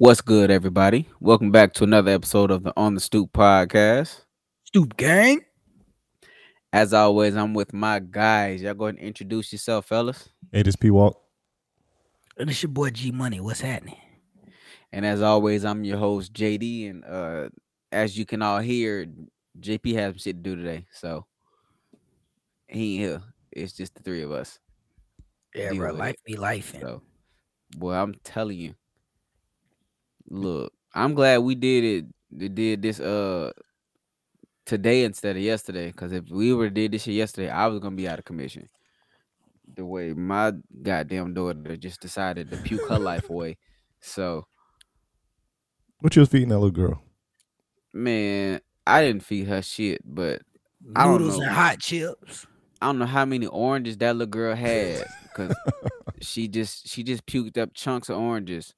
What's good, everybody? Welcome back to another episode of the On the Stoop podcast. Stoop gang. As always, I'm with my guys. Y'all go ahead and introduce yourself, fellas. Hey, this P Walk. And it's your boy G Money. What's happening? And as always, I'm your host, JD. And as you can all hear, JP has some shit to do today. So he ain't here. It's just the three of us. Yeah, Deal bro. with Life it. be life. So, boy, I'm telling you. Look, I'm glad we did it. We did this today instead of yesterday. Because if we were did this shit yesterday, I was gonna be out of commission. The way my goddamn daughter just decided to puke her life away. So, What you was feeding that little girl? man, I didn't feed her shit, but I don't Noodles know. and hot chips. I don't know how many oranges that little girl had because she just puked up chunks of oranges.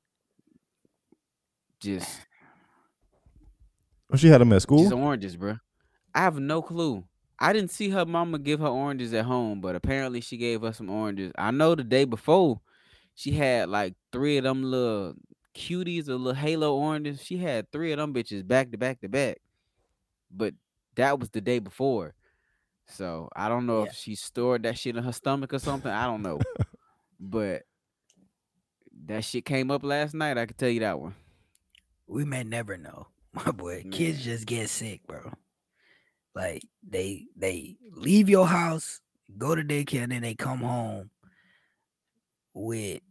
Just Oh, she had them at school. oranges, bro. I have no clue. I didn't see her mama give her oranges at home, but apparently she gave us some oranges. I know the day before she had like three of them little cuties or little halo oranges. She had three of them bitches back to back to back. But that was the day before. So I don't know Yeah. if she stored that shit in her stomach or something. I don't know. But that shit came up last night. I can tell you that one. We may never know. My boy. Man. Kids just get sick, bro. Like they leave your house, go to daycare, and then they come home with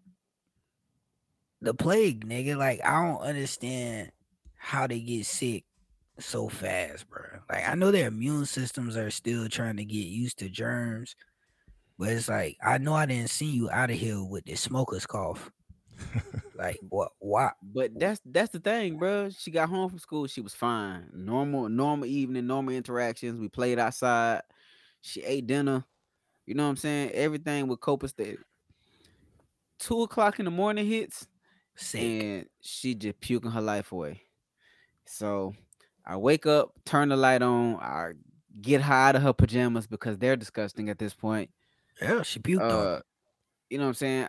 the plague, nigga. Like I don't understand how they get sick so fast, bro. Like I know their immune systems are still trying to get used to germs, but it's like I know I didn't see you out of here with the smoker's cough. Like what? Why? But that's the thing, bro. She got home from school. She was fine. Normal evening, normal interactions. We played outside. She ate dinner. You know what I'm saying? Everything with copacetic. 2 o'clock in the morning hits, Sick. and she just puking her life away. So I wake up, turn the light on, I get her out of her pajamas because they're disgusting at this point. Yeah, she puked on. Uh, you know what I'm saying?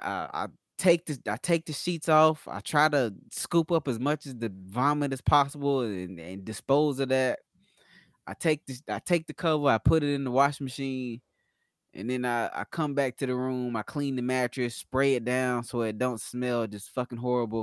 I take the sheets off. I try to scoop up as much as the vomit as possible and dispose of that. I take the cover, I put it in the washing machine, and then I come back to the room, I clean the mattress, spray it down so it don't smell just fucking horrible,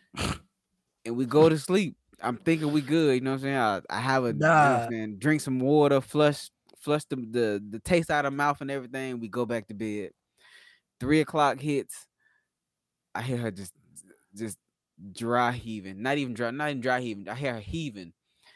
and we go to sleep. I'm thinking we good, you know what I'm saying? I have a, you know what I'm Nah, saying, drink some water, flush the taste out of mouth and everything. We go back to bed. 3 o'clock hits. I hear her just dry heaving. Not even dry heaving. I hear her heaving.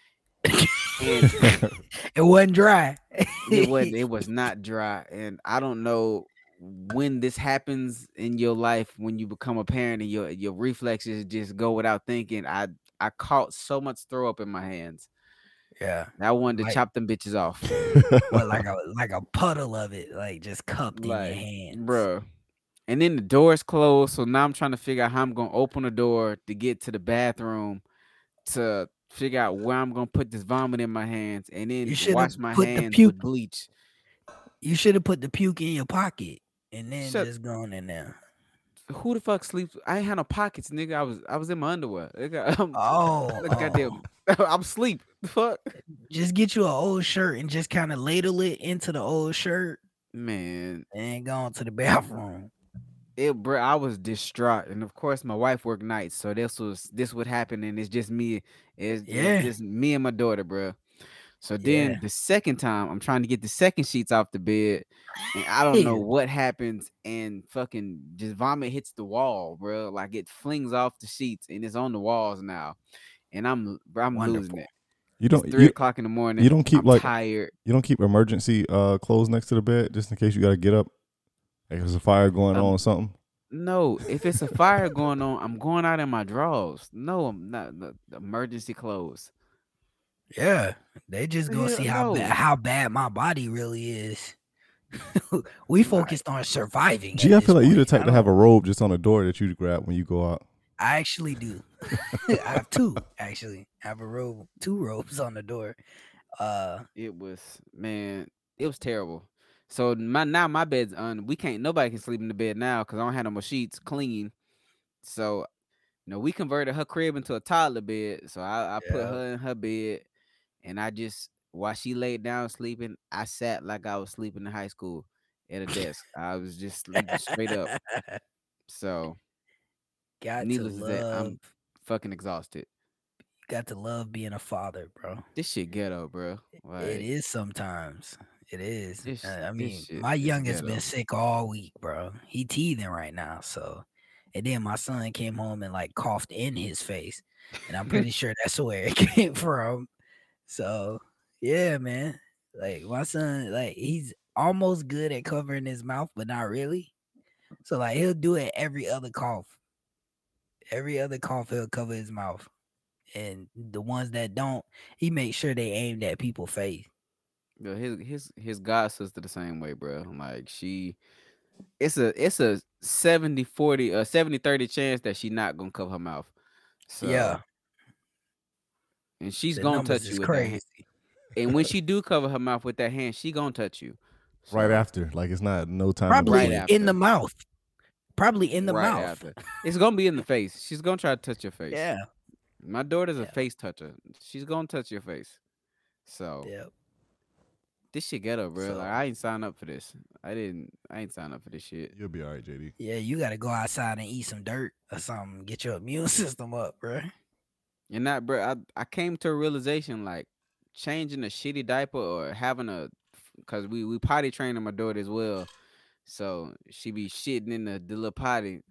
And it wasn't dry. it was not dry. And I don't know when this happens in your life when you become a parent and your reflexes just go without thinking. I caught so much throw up in my hands. Yeah, I wanted to like chop them bitches off. what? Like a puddle of it, like just cupped in your Like, hands. bruh. And then the door's closed. So now I'm trying to figure out how I'm gonna open the door to get to the bathroom to figure out where I'm gonna put this vomit in my hands and You then should have wash my put the hands puke. with bleach. You should have put the puke in your pocket and then Shut just gone in there. who the fuck sleeps? I ain't had no pockets, nigga. I was in my underwear. Nigga, Oh, goddamn, I'm asleep. The fuck, just get you an old shirt and just kind of ladle it into the old shirt man. and go into the bathroom. Bro, I was distraught, and of course, my wife worked nights, so this would happen, and it's just me. It's Yeah, just me and my daughter, bro. So yeah. then the second time, I'm trying to get the second sheets off the bed, and I don't know what happens, and fucking just vomit hits the wall, bro. Like it flings off the sheets, and it's on the walls now, and I'm losing Wonderful. it. you It's don't 3 o'clock in the you morning. don't keep I'm tired. you don't keep emergency clothes next to the bed just in case you got to get up. Like there's a fire going on Um, or something. no, if it's a fire going on, I'm going out in my drawers. No, I'm not. The emergency clothes. Yeah, they just gonna Hell see no. how bad my body really is. We Like, focused on surviving Gee, at I this feel like you the point. type to have a robe just on the door that you grab when you go out. I actually do. I have two actually. I have two robes on the door. it was, man, it was terrible. So my bed's we can't nobody can sleep in the bed now because I don't have no more sheets clean. So we converted her crib into a toddler bed. So I put Yeah. her in her bed, and I just while she laid down sleeping, I sat like I was sleeping in high school at a desk. I was just sleeping straight up. So Got to needless to say, love, I'm fucking exhausted. got to love being a father, bro. This shit ghetto, bro. It Like is sometimes. It is. I this mean, shit my is youngest been ghetto. sick all week, bro. He teething right now. So, and then my son came home and like coughed in his face, and I'm pretty sure that's where it came from. So, yeah, man. Like my son, like he's almost good at covering his mouth, but not really. So like he'll do it every other cough. Every other cough, he'll cover his mouth, and the ones that don't, he makes sure they aimed at people's face. Yo, his god sister the same way, bro. Like it's a 70-40 70-30 chance that she not gonna cover her mouth. Yeah, So and she's the gonna numbers touch is you with that hand. crazy. And when she do cover her mouth with that hand, she gonna touch you. Right So after, like it's not no time to Probably right wait. in the after. mouth. Probably in the Right mouth. after. It's gonna be in the face. She's gonna try to touch your face. Yeah. My daughter's a Yeah. face toucher. She's gonna touch your face. So Yeah. this shit ghetto, bro. So Like I ain't signed up for this. I ain't signed up for this shit. You'll be all right, JD. yeah, you got to go outside and eat some dirt or something. Get your immune system up, bro. And that, bro, I came to a realization like changing a shitty diaper or having cause we potty training my daughter as well. So she be shitting in the little potty.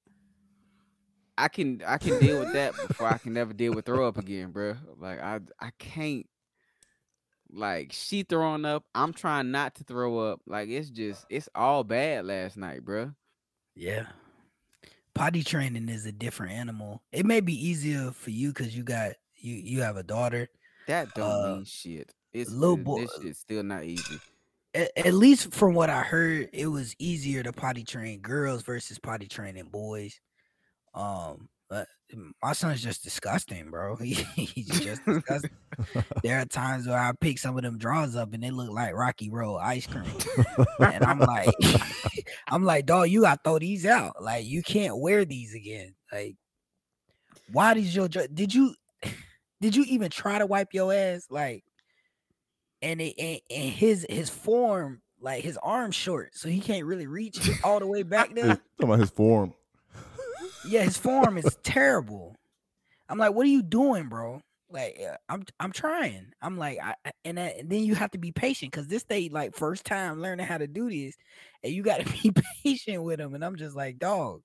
I can deal with that before I can never deal with throw up again, bro. Like I can't. Like she throwing up, I'm trying not to throw up. Like it's all bad last night, bro. Yeah. Potty training is a different animal. It may be easier for you because you have a daughter. That don't mean shit. Little boy, This shit's still not easy. at least from what I heard, it was easier to potty train girls versus potty training boys. But my son's just disgusting, bro. He's just disgusting. There are times where I pick some of them drawers up and they look like Rocky Road ice cream, and I'm like, I'm like, dog, you gotta throw these out. Like, you can't wear these again. Like, why did your did you even try to wipe your ass? Like, and his form, like his arm's short, so he can't really reach all the way back there. Talking about his form. Yeah, his form is terrible. I'm like, what are you doing, bro? Like, I'm trying. I'm like, and then you have to be patient because this they like first time learning how to do this, and you got to be patient with them. And I'm just like, dog,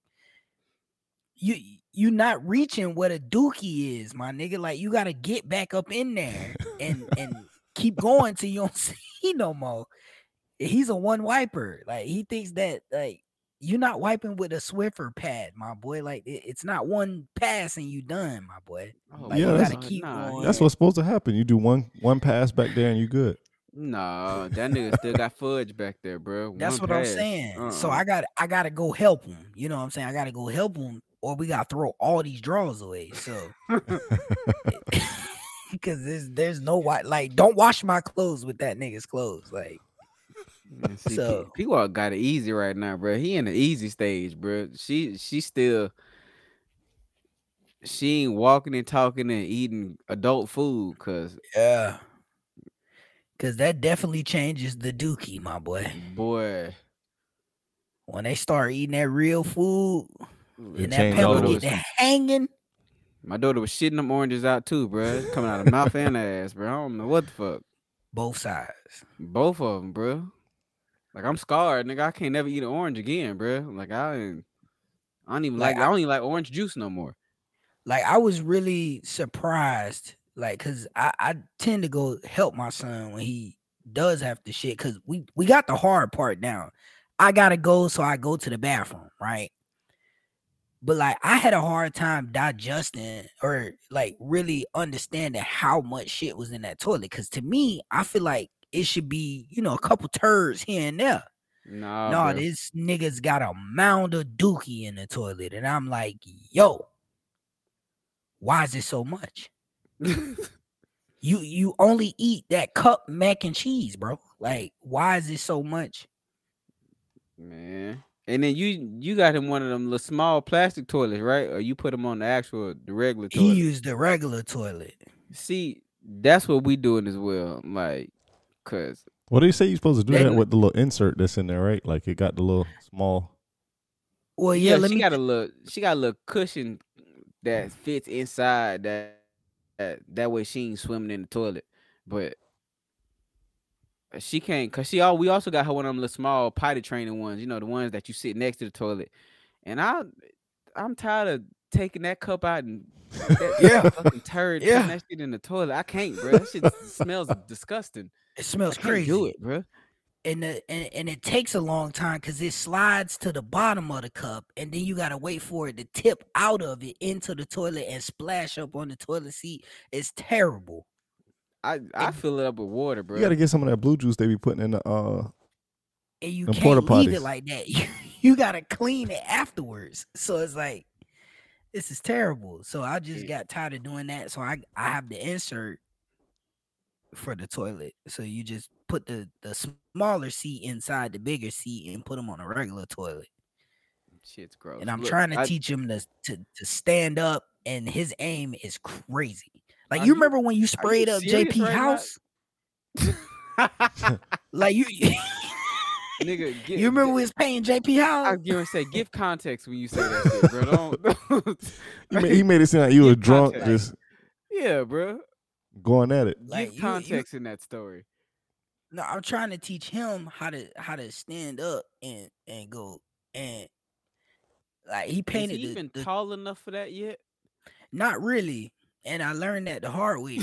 you not reaching what a dookie is, my nigga. Like, you got to get back up in there and keep going till you don't see no more. He's a one wiper. Like, he thinks that like you're not wiping with a Swiffer pad, my boy. Like, it's not one pass and you done, my boy. Oh, Like, Yeah, you that's- gotta keep going. That's what's supposed to happen. You do one pass back there and you good. No, that nigga still got fudge back there, bro. That's One what I'm pass. saying. So Uh-uh. I gotta go help him. You know what I'm saying? I gotta go help him, or we gotta throw all these drawers away. So because there's no like, don't wash my clothes with that nigga's clothes. Like, Man, see, so people all got it easy right now, bro. He in the easy stage, bro. She still she ain't walking and talking and eating adult food, cause yeah. Cause that definitely changes the dookie, my boy. boy, When they start eating that real food It and that changed pepper all get those. that hanging, my daughter was shitting them oranges out too, bro. It's coming out of mouth and ass, bro. I don't know what the fuck. both sides. Both of them, bro. Like I'm scarred, nigga. I can't never eat an orange again, bro. Like I don't even Like, I don't even like orange juice no more. Like, I was really surprised, like, cause I tend to go help my son when he does have to shit, cause we got the hard part down. I gotta go, so I go to the bathroom, right? But like, I had a hard time digesting or like really understanding how much shit was in that toilet. Cause to me, I feel like it should be, a couple turds here and there. Nah, No, bro. this nigga's got a mound of dookie in the toilet, and I'm like, yo, why is it so much? You only eat that cup mac and cheese, bro. Like, why is it so much? Man. And then you got him one of them little small plastic toilets, right? Or you put him on the regular He toilet. used the regular toilet. See, that's what we doing as well. Like, cause What do you say you're supposed to do They- that with the little insert that's in there, right? Like it got the little small. Well, yeah, let she me. got a little cushion that fits inside that way she ain't swimming in the toilet. But she can't, cause we also got her one of them little small potty training ones, the ones that you sit next to the toilet. And I'm tired of taking that cup out and that fucking turd putting that shit in the toilet. I can't, bro. That shit smells disgusting. It smells I can't crazy. do it, bro. And it takes a long time because it slides to the bottom of the cup, and then you gotta wait for it to tip out of it into the toilet and splash up on the toilet seat. It's terrible. I fill it up with water, bro. You got to get some of that blue juice they be putting in the. And you Them can't porta leave it potties. like that. You gotta clean it afterwards. So it's like, this is terrible. So I just got tired of doing that. So I have the insert for the toilet. So you just put the smaller seat inside the bigger seat and put them on a regular toilet. Shit's gross. And I'm Look, trying to teach him to stand up, and his aim is crazy. Like, Are you you- remember when you sprayed up serious JP right now? House? Like you Nigga, you remember we was paying JP I House? was gonna say, give context when you say that shit, bro. Don't. He made it seem like you was Give drunk, context. just Yeah, bro. going at it. Like, Give context in that story. No, I'm trying to teach him how to stand up and go, and like he Is painted he even the tall enough for that yet? not really, and I learned that the hard way.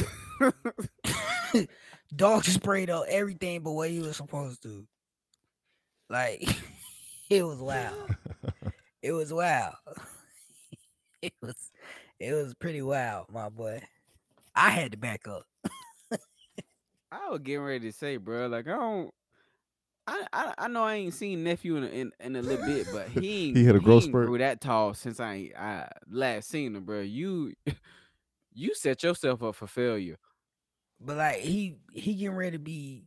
Dog sprayed up everything but what he was supposed to. Like, it was wild. It was wild. It was pretty wild, my boy. I had to back up. I was getting ready to say, bro, like I know I ain't seen nephew in a little bit, but he He hit a growth ain't spurt. grew that tall since I last seen him, bro. You set yourself up for failure. But like he getting ready to be,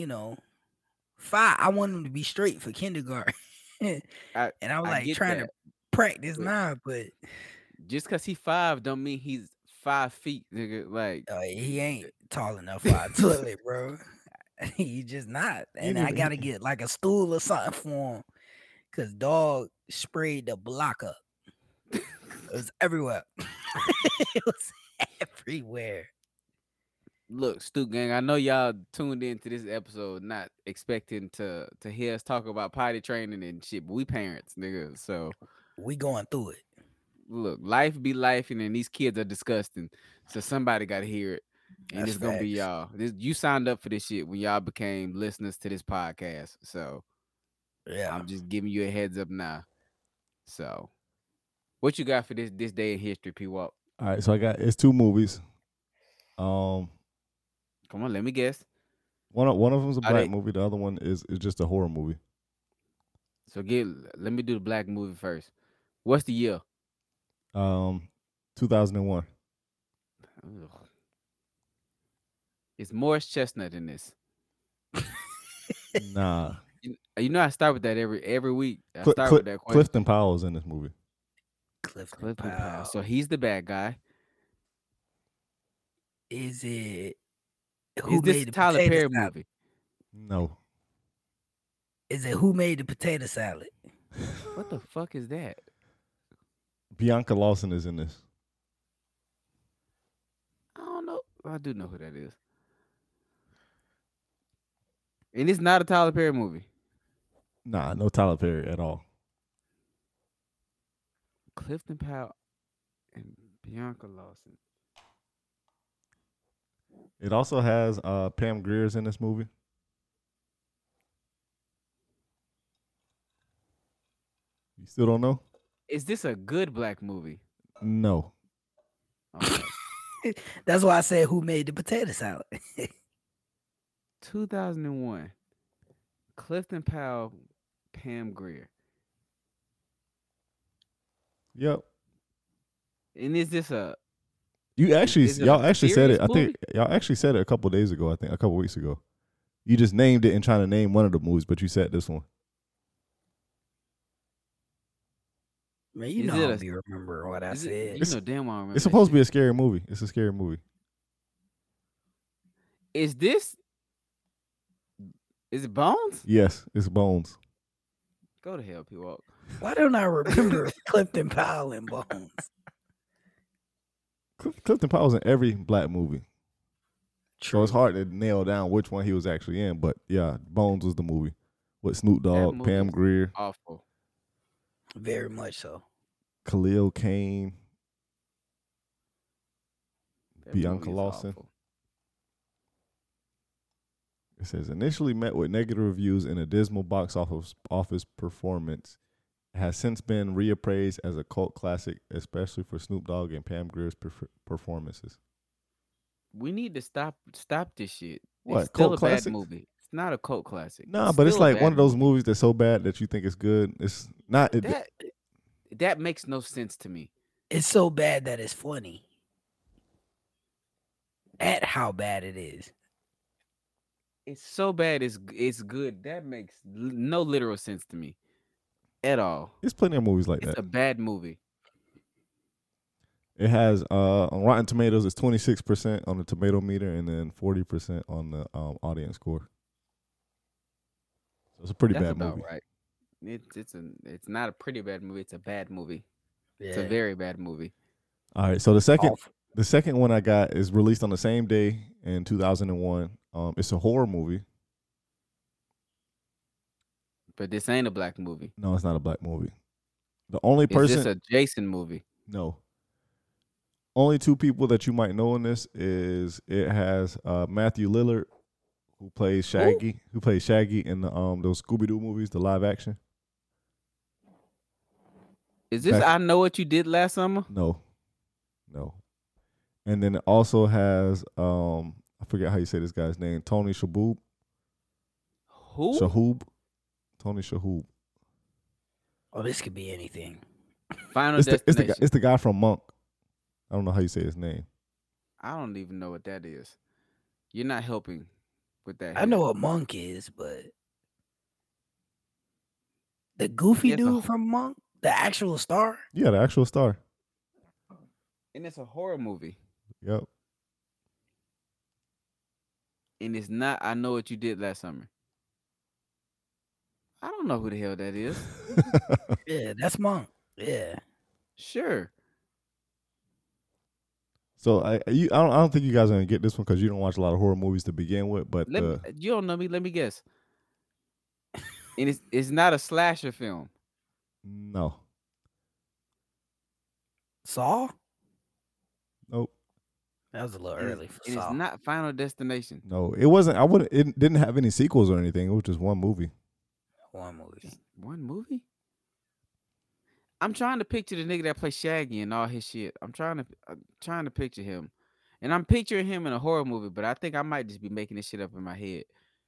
5. I want him to be straight for kindergarten. And I was I like get trying that. to practice But- now, but Just cause he 5 don't mean he's 5 feet, nigga. Like he ain't tall enough for a toilet, bro. He just not. And I gotta get like a stool or something for him. Cause dog sprayed the block up. It was everywhere. It was everywhere. look, Stu Gang, I know y'all tuned into this episode not expecting to hear us talk about potty training and shit, but we parents, nigga. So We going through it. look, life be life, and then these kids are disgusting. So somebody got to hear it, and That's it's gonna be facts. y'all. You signed up for this shit when y'all became listeners to this podcast. So Yeah. I'm just giving you a heads up now. So, what you got for this day in history, P Walk? All right, so it's 2 movies. Come on, let me guess. One of them's a Are black they- movie. The other one is just a horror movie. So let me do the black movie first. What's the year? 2001. Ugh. It's Morris Chestnut in this. Nah, You know I start with that every week. I Cl- start Cl- with that question. Clifton Powell's in this movie. Clifton Clifton Powell. Powell. So he's the bad guy. Is it Is who this made a the Tyler potato Perry salad? movie? No, Is it who made the potato salad? What the fuck is that? Bianca Lawson is in this. I don't know. I do know who that is. And it's not a Tyler Perry movie. Nah, no Tyler Perry at all. Clifton Powell and Bianca Lawson. It also has Pam Grier's in this movie. You still don't know? Is this a good black movie? No. Okay. That's why I said who made the potato salad. 2001. Clifton Powell, Pam Grier. Yep. And is this a You actually, Is it y'all a actually said it. serious I think y'all actually said it a couple days ago. I think a couple weeks ago. You just named it and trying to name one of the movies, but you said this one. Man, you Is know I it don't a? be remembering what I Is it? said. You know damn well I remember It's that supposed to be shit. a scary movie. It's a scary movie. Is this? Is it Bones? Yes, it's Bones. Go to hell, P Walk. Why don't I remember Clifton Powell and Bones? Clifton Powell's in every black movie. So it's True. hard to nail down which one he was actually in. But yeah, Bones was the movie with Snoop That Dogg, movie Pam is Grier, awful. Very much so. Khalil Kain, That Bianca movie is Lawson. awful. It says initially met with negative reviews and a dismal box office performance, it has since been reappraised as a cult classic, especially for Snoop Dogg and Pam Grier's performances. We need to stop this shit. What, It's still cult a bad classic? movie. It's not a cult classic. Nah, but it's still a like one bad of those movie. movies that's so bad that you think it's good. It's not. That makes no sense to me. It's so bad that it's funny. At how bad it is. It's so bad. It's good. That makes no literal sense to me, at all. There's plenty of movies like It's that. a bad movie. It has on Rotten Tomatoes, it's 26% on the tomato meter and then 40% on the audience score. So it's a pretty That's bad about movie. right. It's not a pretty bad movie. It's a bad movie. Yeah. It's a very bad movie. All right, so the second Awful. the second one I got is released on the same day in 2001. It's a horror movie. But this ain't a black movie. No, it's not a black movie. The only Is person this a Jason movie? No. Only two people that you might know in this is it has Matthew Lillard, who plays Shaggy, in the those Scooby-Doo movies, the live action. Is this I Know What You Did Last Summer? No. And then it also has I forget how you say this guy's name, Tony Shalhoub. Who? Tony Shalhoub. Oh, this could be anything. Final It's Destination. the guy from Monk. I don't know how you say his name. I don't even know what that is. You're not helping with that. I know what Monk is, but the goofy dude from Monk, the actual star. Yeah, the actual star. And it's a horror movie. Yep. And it's not I Know What You Did Last Summer. I don't know who the hell that is. Yeah, that's Monk. Yeah. Sure. So I don't think you guys are gonna get this one because you don't watch a lot of horror movies to begin with. But you don't know me. Let me guess. And it's not a slasher film. No. Saw? Nope. That was a little early for and Saw. it's not Final Destination. No, it wasn't. It didn't have any sequels or anything. It was just one movie. One movie. One movie? I'm trying to picture the nigga that plays Shaggy and all his shit. I'm trying to picture him. And I'm picturing him in a horror movie, but I think I might just be making this shit up in my head.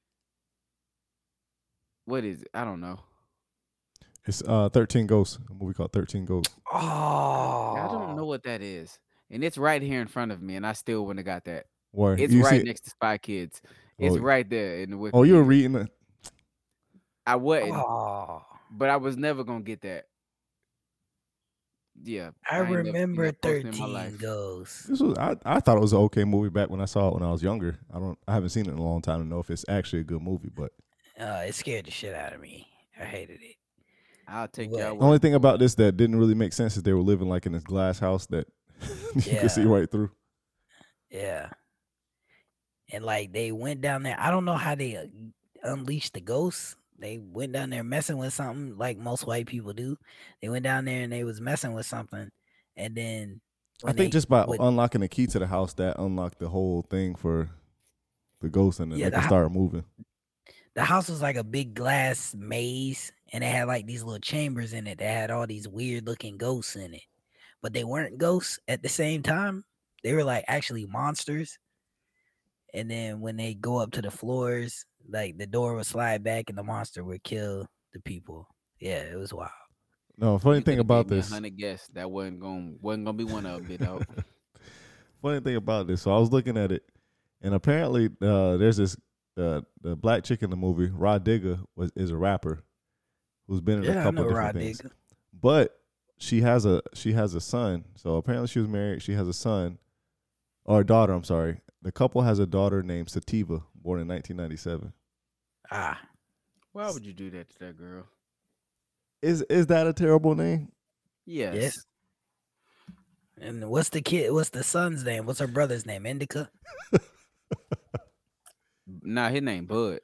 What is it? I don't know. It's 13 Ghosts, a movie called 13 Ghosts. Oh. I don't know what that is. And it's right here in front of me, and I still wouldn't have got that. Where it's right next to Spy Kids. It's right there in the Wikipedia. Oh, you were reading it? I wasn't. Oh. But I was never going to get that. Yeah. I remember 13 Ghosts. This was I thought it was an okay movie back when I saw it when I was younger. I haven't seen it in a long time to know if it's actually a good movie, but it scared the shit out of me. I hated it. I'll take that. The only thing about this that didn't really make sense is they were living like in this glass house that you could see right through. Yeah. And like they went down there. I don't know how they unleashed the ghosts. They went down there messing with something like most white people do. They went down there and they was messing with something. And then I think just by unlocking the key to the house, that unlocked the whole thing for the ghosts, and then they could start moving. The house was like a big glass maze, and it had like these little chambers in it that had all these weird looking ghosts in it. But they weren't ghosts at the same time. They were like actually monsters. And then when they go up to the floors, like the door would slide back and the monster would kill the people. Yeah, it was wild. No, funny thing about this, 100 guess that wasn't gonna be one of them, though. Funny thing about this, so I was looking at it, and apparently there's this the black chick in the movie, Rod Digger, is a rapper who's been in a couple of different things. But she has a son. So apparently she was married. She has a son or a daughter. I'm sorry. The couple has a daughter named Sativa, born in 1997. Ah, Why would you do that to that girl? Is that a terrible name? Yes. yes. And what's the son's name? What's her brother's name? Indica? Nah, his name Bud.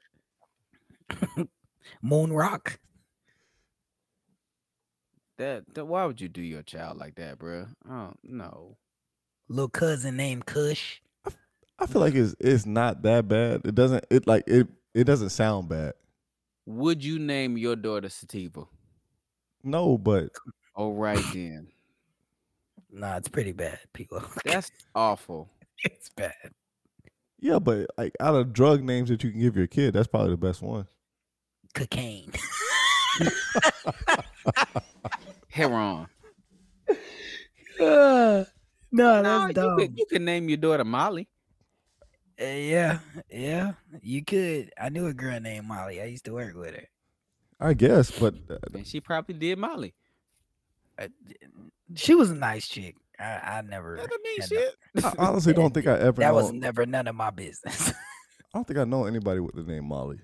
Moon Rock? That why would you do your child like that, bro? Oh no. Little cousin named Kush? I feel like it's not that bad. It doesn't sound bad. Would you name your daughter Sativa? No, but All right then. Nah, it's pretty bad, people. That's awful. It's bad. yeah, but like out of drug names that you can give your kid, that's probably the best one. Cocaine. Heron. No, No, that's dumb. you can name your daughter Molly. Yeah, you could. I knew a girl named Molly. I used to work with her. I guess, but And she probably did Molly. She was a nice chick. I never. That don't mean had shit. I honestly don't think I ever. That was known- never none of my business. I don't think I know anybody with the name Molly.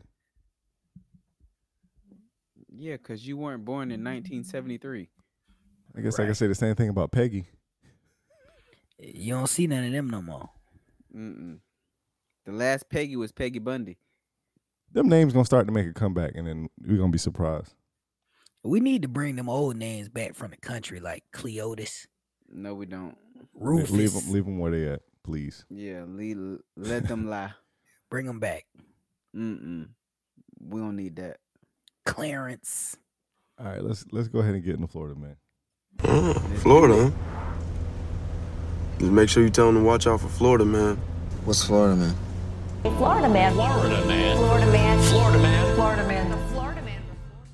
Yeah, because you weren't born in 1973. I guess I Right. can say the same thing about Peggy. You don't see none of them no more. Mm-mm. The last Peggy was Peggy Bundy. Them names gonna start to make a comeback, and then we're gonna be surprised. We need to bring them old names back from the country, like Cleotis, No, we don't. Rufus. Leave them where they at, please. Yeah, let them lie. Bring them back. Mm-mm. We don't need that. Clarence. All right, let's go ahead and get into Florida, man. Florida, huh? Just make sure you tell them to watch out for Florida, man. What's Florida, man? Florida man. Florida man. Florida man. Florida man. Florida man. The Florida man.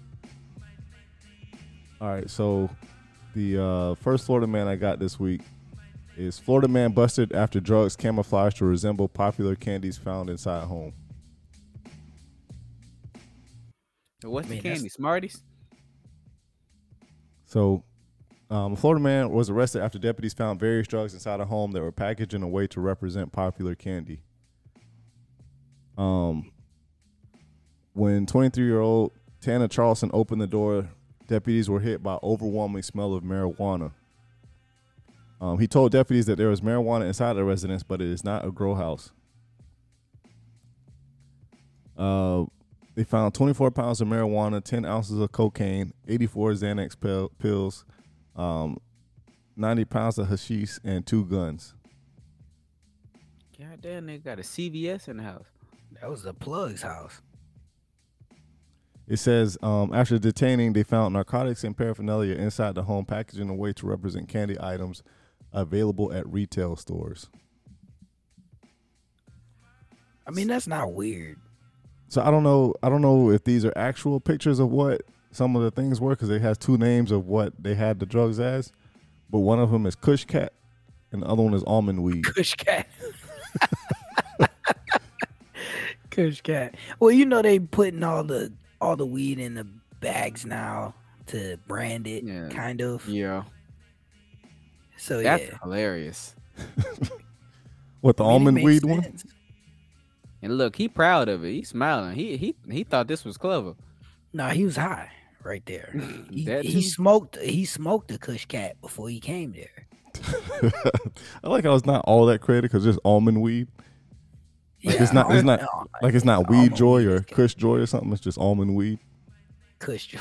All right, so the first Florida man I got this week is Florida man busted after drugs camouflaged to resemble popular candies found inside home. What's the Man, that's- candy? Smarties? So, a Florida man was arrested after deputies found various drugs inside a home that were packaged in a way to represent popular candy. When 23-year-old Tana Charleston opened the door, deputies were hit by overwhelming smell of marijuana. He told deputies that there was marijuana inside the residence, but it is not a grow house. They found 24 pounds of marijuana, 10 ounces of cocaine, 84 Xanax pills, 90 pounds of hashish, and 2 guns. God damn, they got a CVS in the house. That was the plug's house. It says, after detaining, they found narcotics and paraphernalia inside the home, packaged in a way to represent candy items available at retail stores. I mean, that's not weird. So I don't know if these are actual pictures of what some of the things were, because it has 2 names of what they had the drugs as, but one of them is Kush Cat and the other one is almond weed. Kush Cat. Kush Cat. Well, you know they putting all the weed in the bags now to brand it, Yeah. kind of. Yeah. So That's yeah. hilarious. What, the I mean, it almond makes weed one? sense. And look, he proud of it. He's smiling. He thought this was clever. No, he was high right there. That He too? smoked the Kush Cat before he came there. I like how it's not all that credit because it's almond weed. Like it's not like it's not weed almond joy weed or is good. Kush joy or something. It's just almond weed. Kush Joy.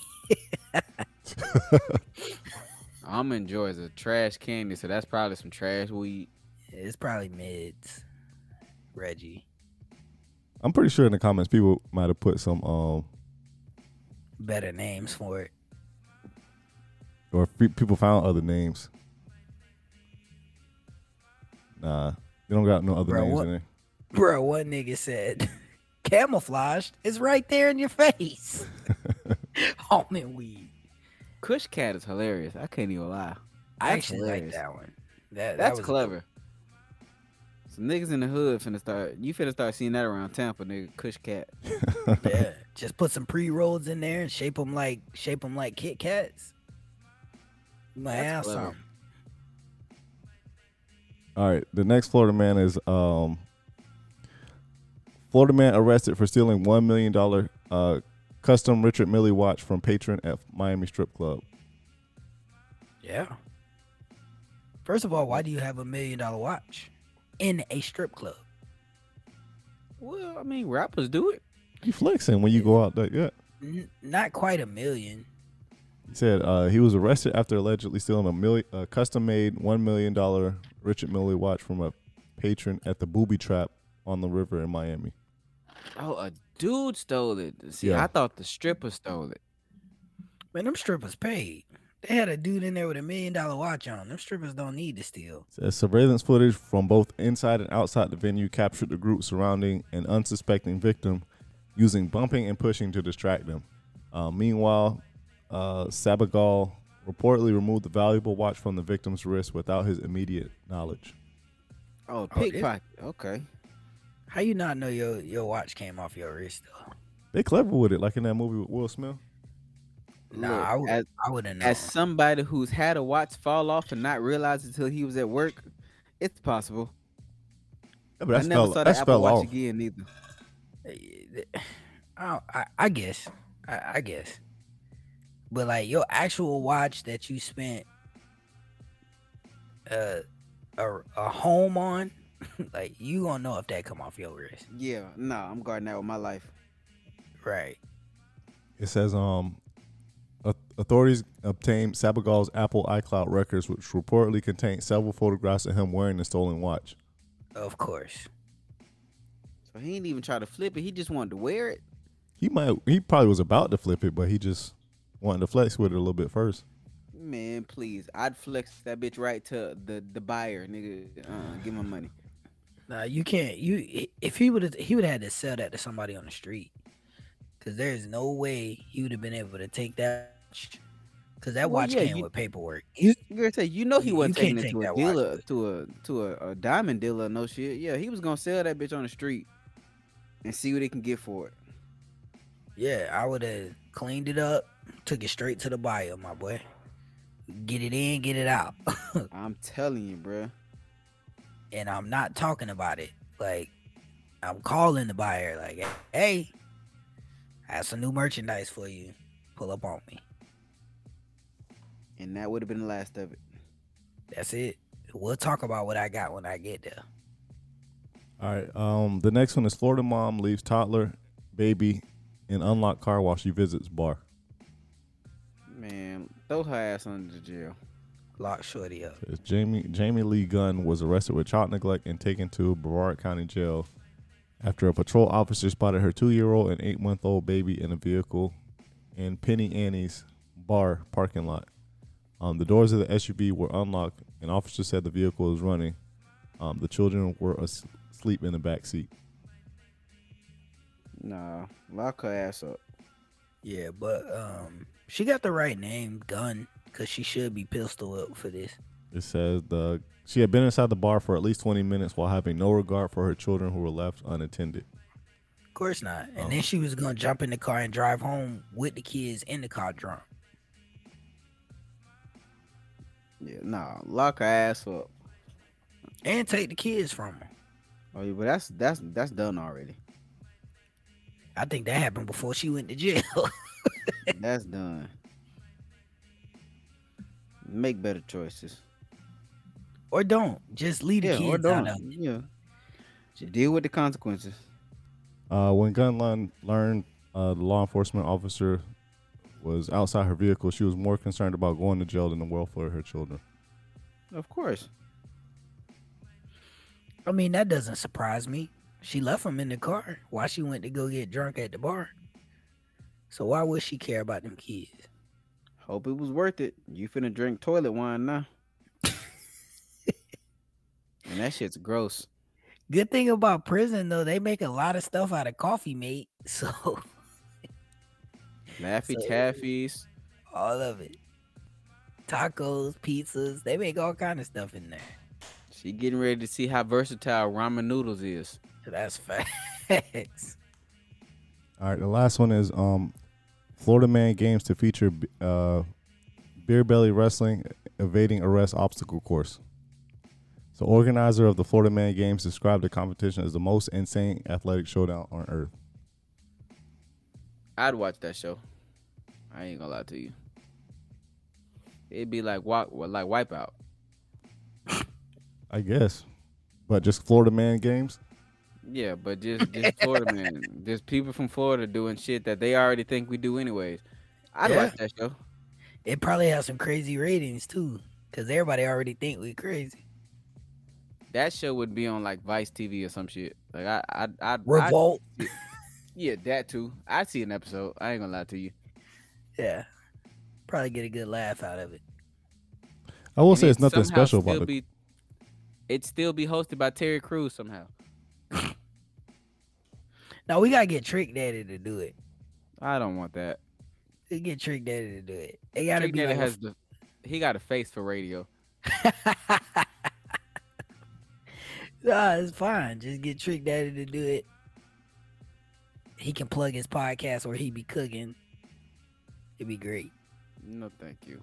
Almond Joy is a trash candy, so that's probably some trash weed. It's probably mids. Reggie. I'm pretty sure in the comments people might have put some Better names for it. or people found other names. Nah, they don't got no other Bro, names what? in there. Bro, one nigga said, camouflaged is right there in your face. Almond weed. Kush Cat is hilarious. I can't even lie. I That's actually hilarious. like that one. That That's was clever. Some niggas in the hood finna start seeing that around Tampa, nigga. Kush Cat. Yeah, just put some pre-rolls in there and shape them like Kit Kats. You might That's have clever. something. All right, the next Florida man is Florida man arrested for stealing $1 million custom Richard Mille watch from patron at Miami strip club. Yeah. First of all, why do you have $1 million watch in a strip club? Well, I mean, rappers do it. You flexing when you go out that, yeah. Not quite $1 million. He said he was arrested after allegedly stealing a custom-made $1 million Richard Mille watch from a patron at the Booby Trap on the river in Miami. Oh, a dude stole it. See, Yeah. I thought the stripper stole it. Man, them strippers paid. They had a dude in there with $1 million watch on. Them strippers don't need to steal. Says surveillance footage from both inside and outside the venue captured the group surrounding an unsuspecting victim using bumping and pushing to distract them. Meanwhile, Sabagal reportedly removed the valuable watch from the victim's wrist without his immediate knowledge. Oh, Oh, it- pickpocket. Okay. How you not know your watch came off your wrist though? They clever with it, like in that movie with Will Smith. Nah, Look, I wouldn't know. as somebody who's had a watch fall off and not realize until he was at work, it's possible. Yeah, but I never saw that that's Apple fell Watch off. again either. I guess. I guess. But like your actual watch that you spent a home on, like you gonna know if that come off your wrist. Yeah, no, I'm guarding that with my life. Right. It says authorities obtained Sabagal's Apple iCloud records, which reportedly contained several photographs of him wearing the stolen watch. Of course. So he didn't even try to flip it. He just wanted to wear it. He probably was about to flip it, but he just wanted to flex with it a little bit first. Man, please. I'd flex that bitch right to the buyer, nigga. Give my money. Nah, you can't. If he would have had to sell that to somebody on the street, because there's no way he would have been able to take that. Because that Well, watch yeah, came you- with paperwork. You gotta say, he wasn't can't taking it take to a that dealer, watch. to a diamond dealer, no shit. Yeah, he was gonna sell that bitch on the street and see what he can get for it. Yeah, I would have cleaned it up, took it straight to the buyer, my boy. Get it in, get it out. I'm telling you, bruh. And I'm not talking about it. Like, I'm calling the buyer, like, hey, I have some new merchandise for you. Pull up on me. And that would have been the last of it. That's it. We'll talk about what I got when I get there. All right. The next one is Florida mom leaves toddler baby in unlocked car while she visits bar. Man, throw her ass under the jail. Lock shorty up. Says Jamie Lee Gunn was arrested with child neglect and taken to Brevard County Jail after a patrol officer spotted her 2-year-old and 8-month-old baby in a vehicle in Penny Annie's bar parking lot. The doors of the SUV were unlocked, and officers said the vehicle was running. The children were asleep in the back seat. Nah, lock her ass up. Yeah, but she got the right name, Gunn, because she should be pistol whipped for this. It says she had been inside the bar for at least 20 minutes while having no regard for her children who were left unattended. Of course not. And then she was gonna jump in the car and drive home with the kids in the car drunk. Yeah, nah, lock her ass up. And take the kids from her. Oh, yeah, but that's done already. I think that happened before she went to jail. That's done. Make better choices. Or don't. Just leave the Yeah, or kids out don't. of it. Yeah. Deal with the consequences. When Gunn learned the law enforcement officer was outside her vehicle, she was more concerned about going to jail than the welfare of her children. Of course. I mean, that doesn't surprise me. She left him in the car while she went to go get drunk at the bar. So why would she care about them kids? Hope it was worth it. You finna drink toilet wine now. And that shit's gross. Good thing about prison, though, they make a lot of stuff out of coffee, mate. So Laffy So- Taffies. all of it. Tacos, pizzas, they make all kind of stuff in there. She getting ready to see how versatile ramen noodles is. That's facts. All right, the last one is Florida man games to feature beer belly wrestling evading arrest obstacle course. So, organizer of the Florida Man Games described the competition as the most insane athletic showdown on earth. I'd watch that show. I ain't gonna lie to you. It'd be like Wipeout. I guess, but just Florida Man Games. Yeah, but just Florida man, just people from Florida doing shit that they already think we do anyways. I'd Yeah. watch that show. It probably has some crazy ratings too, because everybody already think we crazy. That show would be on like Vice TV or some shit. Like I'd Revolt. yeah, that too. I'd see an episode. I ain't gonna lie to you. Yeah. Probably get a good laugh out of it. I will And say it's it'd nothing somehow special still about it. It'd still be hosted by Terry Crews somehow. Now we gotta get Trick Daddy to do it. I don't want that. We get Trick Daddy to do it. It gotta Trick be Daddy like he got a face for radio. Nah, it's fine. Just get Trick Daddy to do it. He can plug his podcast or he be cooking. It'd be great. No, thank you.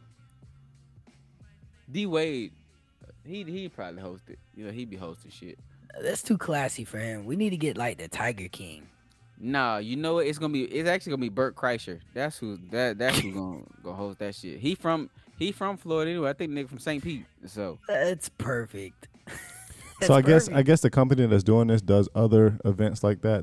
D Wade, he probably host it. You know, he be hosting shit. That's too classy for him. We need to get like the Tiger King. Nah, you know what? It's actually gonna be Bert Kreischer. That's who's gonna host that shit. He from Florida anyway. I think nigga from St. Pete. So That's perfect. So I That's guess perfect. the company that's doing this does other events like that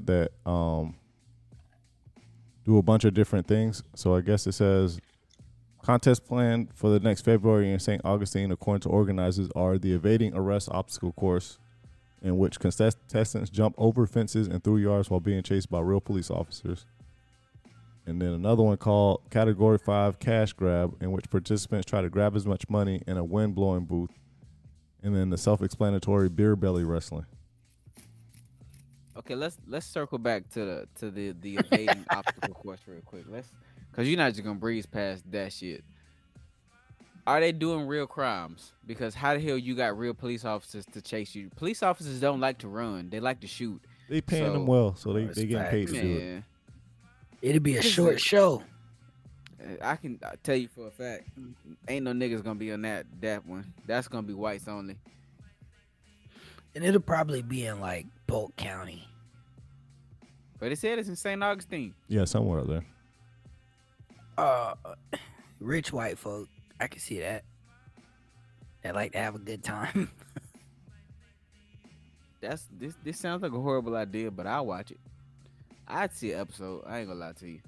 do a bunch of different things. So I guess it says contest planned for the next February in St. Augustine, according to organizers, are the evading arrest obstacle course, in which contestants jump over fences and through yards while being chased by real police officers. And then another one called Category 5 Cash Grab, in which participants try to grab as much money in a wind-blowing booth. And then the self-explanatory beer belly wrestling. okay, let's circle back to the evading obstacle course real quick. Cause you're not just gonna breeze past that shit. Are they doing real crimes? Because how the hell you got real police officers to chase you? Police officers don't like to run; they like to shoot. They paying So- them well, so they That's getting paid to do it. Man, It'd be a What is short it? show. I can tell you for a fact, ain't no niggas gonna be on that one. That's gonna be whites only. And it'll probably be in like Polk County. But it said it's in St. Augustine. Yeah, somewhere up there. Rich white folk. I can see that. They like to have a good time. This sounds like a horrible idea, but I'll watch it. I'd see an episode. I ain't gonna lie to you.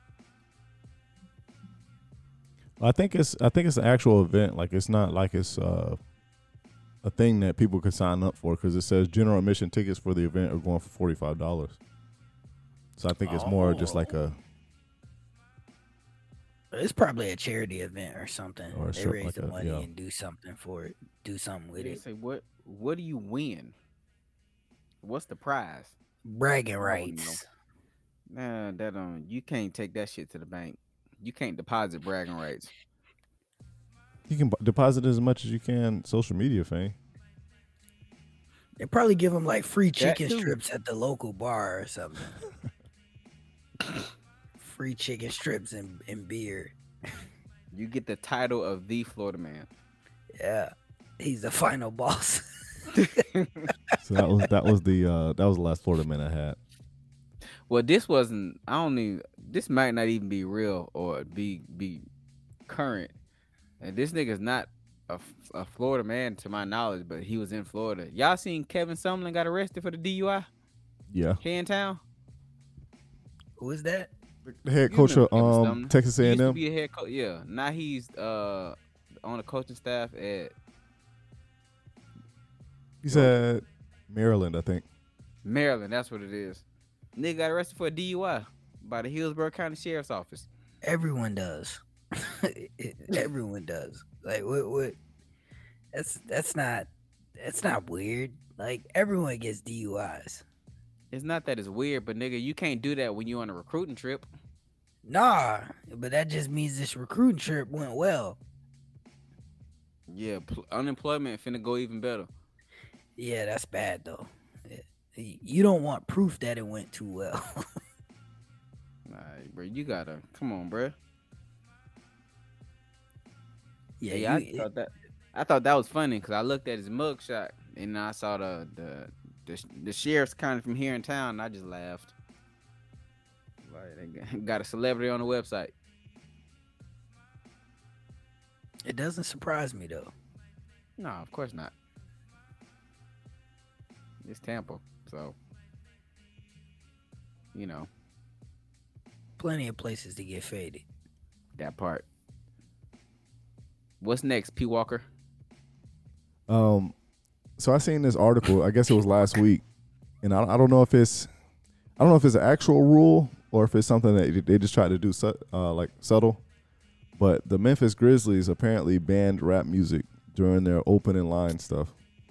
I think it's an actual event. Like it's not like it's a thing that people could sign up for, because it says general admission tickets for the event are going for $45. So I think it's more just like a It's probably a charity event or something. Or They something raise like the that, money yeah. and do something for it. Do something with They it. say what do you win? What's the prize? Bragging don't rights. Nah, you can't take that shit to the bank. You can't deposit bragging rights. you can deposit as much as you can social media fame. They probably give them like free That chicken too. strips at the local bar or something. Free chicken strips and beer. You get the title of the Florida Man. Yeah. He's the final boss. So that was the last Florida man I had. Well, this wasn't. This might not even be real or be current. And this nigga's not a Florida man to my knowledge, but he was in Florida. Y'all seen Kevin Sumlin got arrested for the DUI Yeah, here in town? Who is that? the head You coach of remember Kevin Sumlin. Texas He used to A&M. be a head coach. Yeah, now he's on the coaching staff at He said Maryland, I think. Maryland. That's what it is. Nigga got arrested for a DUI by the Hillsborough County Sheriff's Office. Everyone does. Everyone does. Like what? That's not weird. Like everyone gets DUIs. It's not that it's weird, but nigga, you can't do that when you on a recruiting trip. Nah, but that just means this recruiting trip went well. Yeah, unemployment finna go even better. Yeah, that's bad though. You don't want proof that it went too well. Alright, bro, you gotta come on, bro. yeah, Yeah, I thought that. I thought that was funny because I looked at his mugshot and I saw the sheriff's kind of from here in town. And I just laughed. Like they got a celebrity on the website. It doesn't surprise me though. No, of course not. It's Tampa, so you know Plenty of places to get faded. that part. What's next, P. Walker? So I seen this article. I guess it was last week, and I don't know if it's an actual rule or if it's something that they just try to do like subtle. But the Memphis Grizzlies apparently banned rap music during their opening line stuff.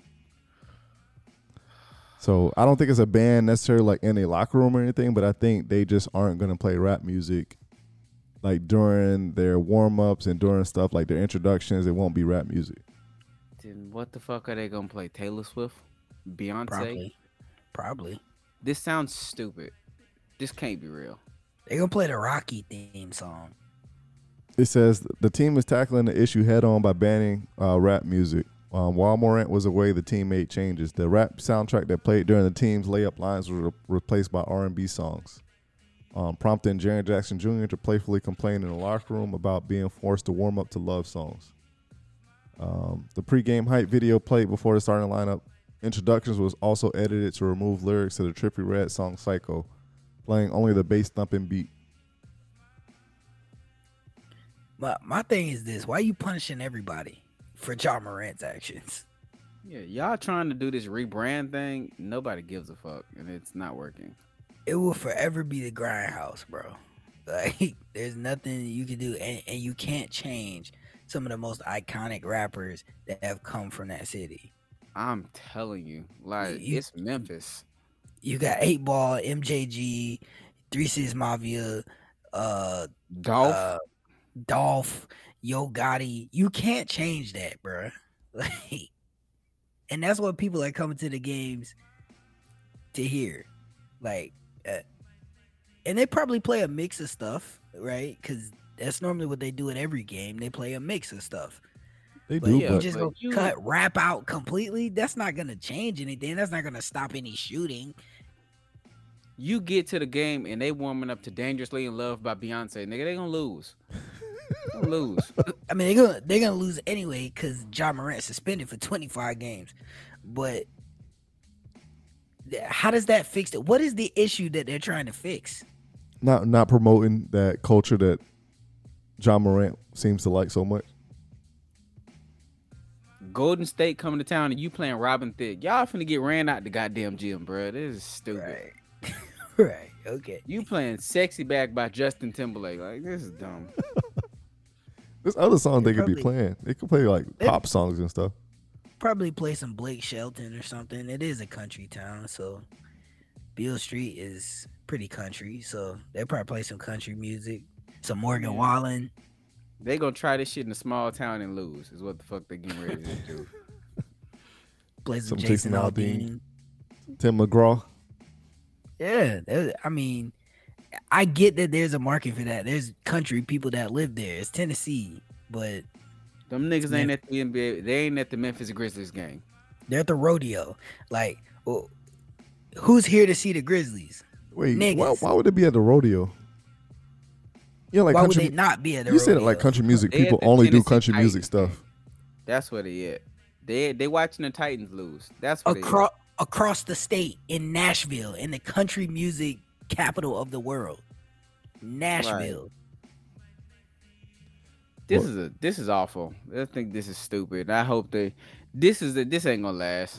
So I don't think it's a ban necessarily like in a locker room or anything, but I think they just aren't going to play rap music like during their warm-ups and during stuff like their introductions. It won't be rap music. Then what the fuck are they gonna play? Taylor Swift? Beyonce? Probably. This sounds stupid. This can't be real. They gonna play the Rocky theme song. It says the team is tackling the issue head-on by banning rap music. While Morant was away, the team made changes. The rap soundtrack that played during the team's layup lines was replaced by R&B songs, prompting Jaren Jackson Jr. to playfully complain in the locker room about being forced to warm up to love songs. The pregame hype video played before the starting lineup introductions was also edited to remove lyrics to the Trippie Redd song Psycho, playing only the bass thumping beat. But my thing is this: why are you punishing everybody for Ja Morant's actions? Yeah, y'all trying to do this rebrand thing. Nobody gives a fuck, and it's not working. It will forever be the grindhouse, bro. Like, there's nothing you can do, and you can't change some of the most iconic rappers that have come from that city. I'm telling you, like it's Memphis. You got 8 Ball, MJG, 3 6 Mafia, Dolph, Yo Gotti. You can't change that, bro. Like, and that's what people are coming to the games to hear. Like, and they probably play a mix of stuff, right? Because that's normally what they do at every game. They play a mix of stuff. They But do, you but just go cut rap out completely. That's not gonna change anything. That's not gonna stop any shooting. You get to the game and they warming up to "Dangerously in Love" by Beyonce, nigga. They gonna lose. Gonna lose. I mean, they're gonna lose anyway because Ja Morant suspended for 25 games. But how does that fix it? What is the issue that they're trying to fix? not promoting that culture that Ja Morant seems to like so much. Golden State coming to town and you playing Robin Thicke. Y'all finna get ran out the goddamn gym, bro. This is stupid. Right. Right. Okay. You playing "Sexy Back" by Justin Timberlake. Like, this is dumb. There's other songs they could be probably- playing. They could play like pop songs and stuff. Probably play some Blake Shelton or something. It is a country town, so Beale Street is pretty country. So they probably play some country music, some Morgan Wallen. They gonna try this shit in a small town and lose. Is what the fuck they getting ready to do. Play some Some Jason Jason Aldean. Tim McGraw. Yeah, I mean, I get that there's a market for that. There's country people that live there. It's Tennessee, but Them niggas ain't at the NBA. They ain't at the Memphis Grizzlies game. they're at the rodeo. Like, well, who's here to see the Grizzlies? Wait, Niggas. why would it be at the rodeo? Yeah, like Why would country. they not be at the You rodeo? said it like country music. They at People the only do Tennessee country Titans music stuff. That's what they at. They watching the Titans lose. That's what across the state in Nashville, in the country music capital of the world. Nashville. This is awful. I think this is stupid. I hope this ain't gonna last.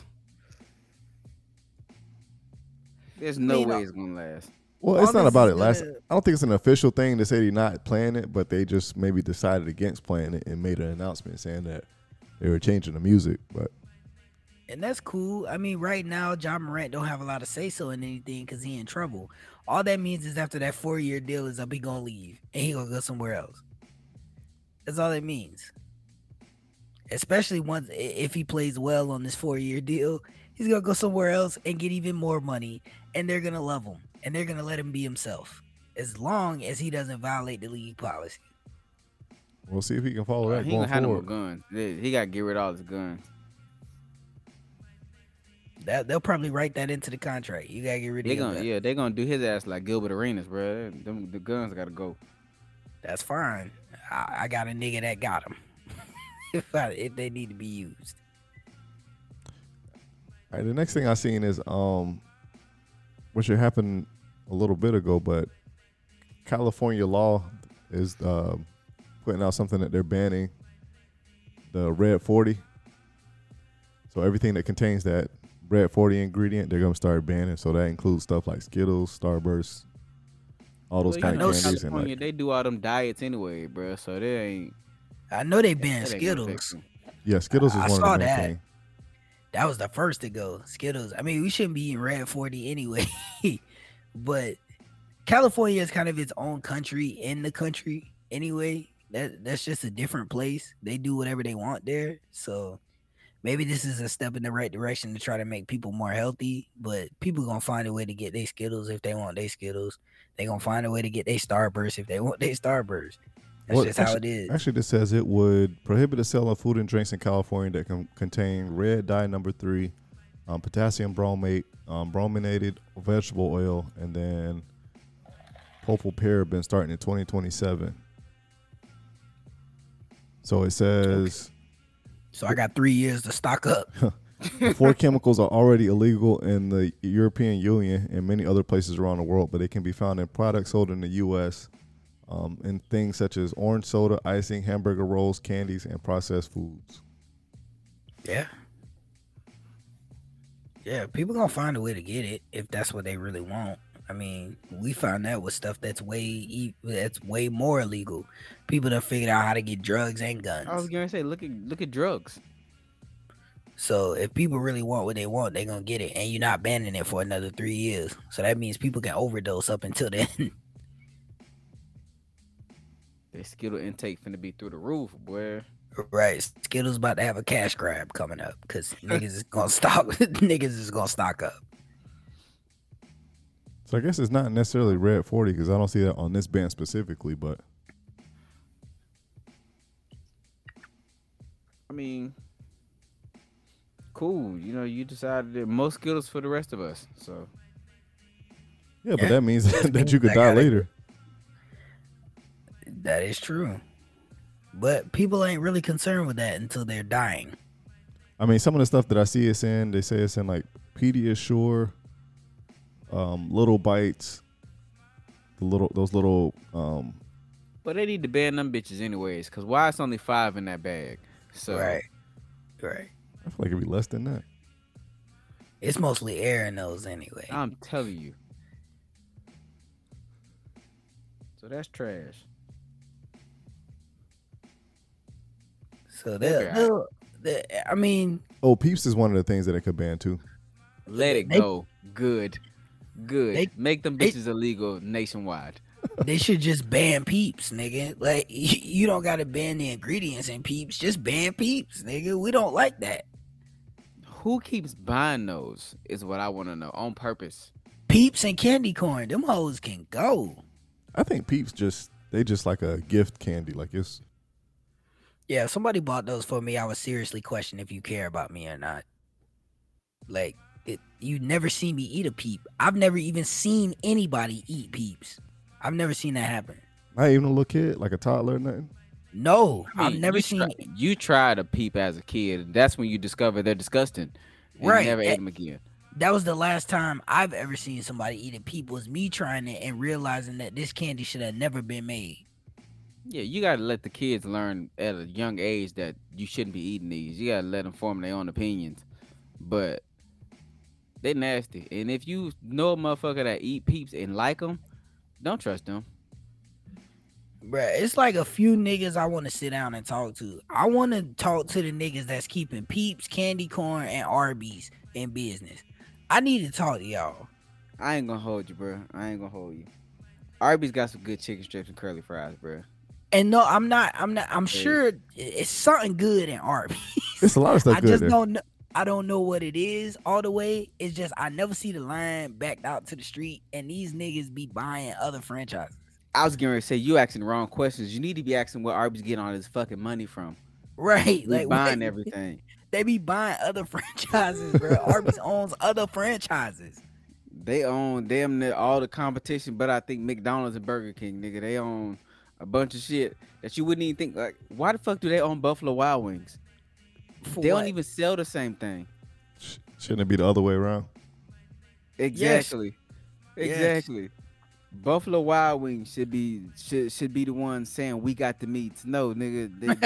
There's no way it's gonna last. Well, All it's not this about is it last. gonna- I don't think it's an official thing to say they're not playing it, but they just maybe decided against playing it and made an announcement saying that they were changing the music. But And that's cool. I mean, right now, Ja Morant don't have a lot of say-so in anything because he in trouble. All that means is after that 4-year deal is up, he gonna leave and he gonna go somewhere else. That's all it means. Especially once if he plays well on this 4-year deal, he's gonna go somewhere else and get even more money, and they're gonna love him and they're gonna let him be himself as long as he doesn't violate the league policy. We'll see if he can follow that He going gonna have no more forward. guns. He gotta get rid of all his guns. They'll probably write that into the contract. You gotta get rid of your gun. They gonna do his ass like Gilbert Arenas, bro. The guns gotta go. That's fine. I got a nigga that got them. if they need to be used. All right, the next thing I seen is which happened a little bit ago, but California law is putting out something that they're banning the Red 40. So everything that contains that Red 40 ingredient, they're gonna start banning. So that includes stuff like Skittles, Starburst, all those kind of candies. And like, they do all them diets anyway, bro. So they ain't. I know they banned that ain't gonna affect Skittles. them. yeah, Skittles is I one saw of the main that. things. That was the first to go. Skittles. I mean, we shouldn't be eating Red 40 anyway. But California is kind of its own country in the country anyway. That's just a different place. They do whatever they want there. So maybe this is a step in the right direction to try to make people more healthy. But people gonna find a way to get their Skittles if they want their Skittles. They gonna find a way to get their Starburst if they want their Starburst. That's just how it is. Actually, this says it would prohibit the sale of food and drinks in California that can contain red dye number 3, potassium bromate, brominated vegetable oil, and then propylparaben starting in 2027. So it says So I got 3 years to stock up. the 4 chemicals are already illegal in the European Union and many other places around the world, but they can be found in products sold in the U.S. In things such as orange soda, icing, hamburger rolls, candies, and processed foods. Yeah. Yeah, people gonna find a way to get it if that's what they really want. I mean, we found that with stuff that's way more illegal. People that figured out how to get drugs and guns. I was gonna say, look at drugs. So if people really want what they want, they gonna get it, and you're not banning it for another 3 years. So that means people can overdose up until then. Their Skittle intake finna be through the roof, boy. Right, Skittles about to have a cash grab coming up because niggas is gonna stock. Niggas is gonna stock up. So I guess it's not necessarily Red 40 because I don't see that on this band specifically, but I mean, cool. You know, you decided that most Skittles for the rest of us. So yeah, but Yeah. that means that you could I die got it. later. That is true, but people ain't really concerned with that until they're dying. I mean, some of the stuff that I see it's in, they say it's in like Pediasure, Little Bites, those little. but they need to ban them bitches anyways. Cause why it's only 5 in that bag? So Right. I feel like it'd be less than that. It's mostly air in those anyway. I'm telling you. So that's trash. So They'll I mean, Oh, Peeps is one of the things that it could ban too. Let it They- go. Good. They- Make them they- bitches illegal nationwide. they should just ban Peeps, nigga. Like you don't gotta ban the ingredients in Peeps. Just ban Peeps, nigga. We don't like that. Who keeps buying those is what I want to know on purpose. Peeps and candy corn, them hoes can go. I think Peeps just like a gift candy. Like it's Yeah, if somebody bought those for me, I would seriously question if you care about me or not. Like, you never see me eat a Peep. I've never even seen anybody eat Peeps. I've never seen that happen. not even a little kid, like a toddler or nothing. No, I mean, I've never seen. You tried a Peep as a kid. That's when you discover they're disgusting. And Right, You never eh, ate them again. That was the last time I've ever seen somebody eat a Peep. Was me trying it and realizing that this candy should have never been made. Yeah, you gotta let the kids learn at a young age that you shouldn't be eating these. You gotta let them form their own opinions. But they nasty, and if you know a motherfucker that eat Peeps and like them, don't trust them. Bruh, it's like a few niggas I want to sit down and talk to. I want to talk to the niggas that's keeping Peeps, candy corn, and Arby's in business. I need to talk to y'all. I ain't gonna hold you, bro. I ain't gonna hold you. Arby's got some good chicken strips and curly fries, bro. And no, I'm not. I'm sure it's something good in Arby's. It's a lot of stuff I good just there. don't know. I don't know what it is all the way. It's just I never see the line backed out to the street, and these niggas be buying other franchises. I was getting ready to say you asking the wrong questions. You need to be asking where Arby's getting all this fucking money from. Right? They Like buying what? everything. They be buying other franchises, bro. Arby's owns other franchises. They own damn near all the competition, but I think McDonald's and Burger King, nigga, they own a bunch of shit that you wouldn't even think. Like, why the fuck do they own Buffalo Wild Wings? For They what? don't even sell the same thing. Shouldn't it be the other way around? Exactly. Yes. Exactly. Buffalo Wild Wings should be the ones saying we got the meats. No, nigga,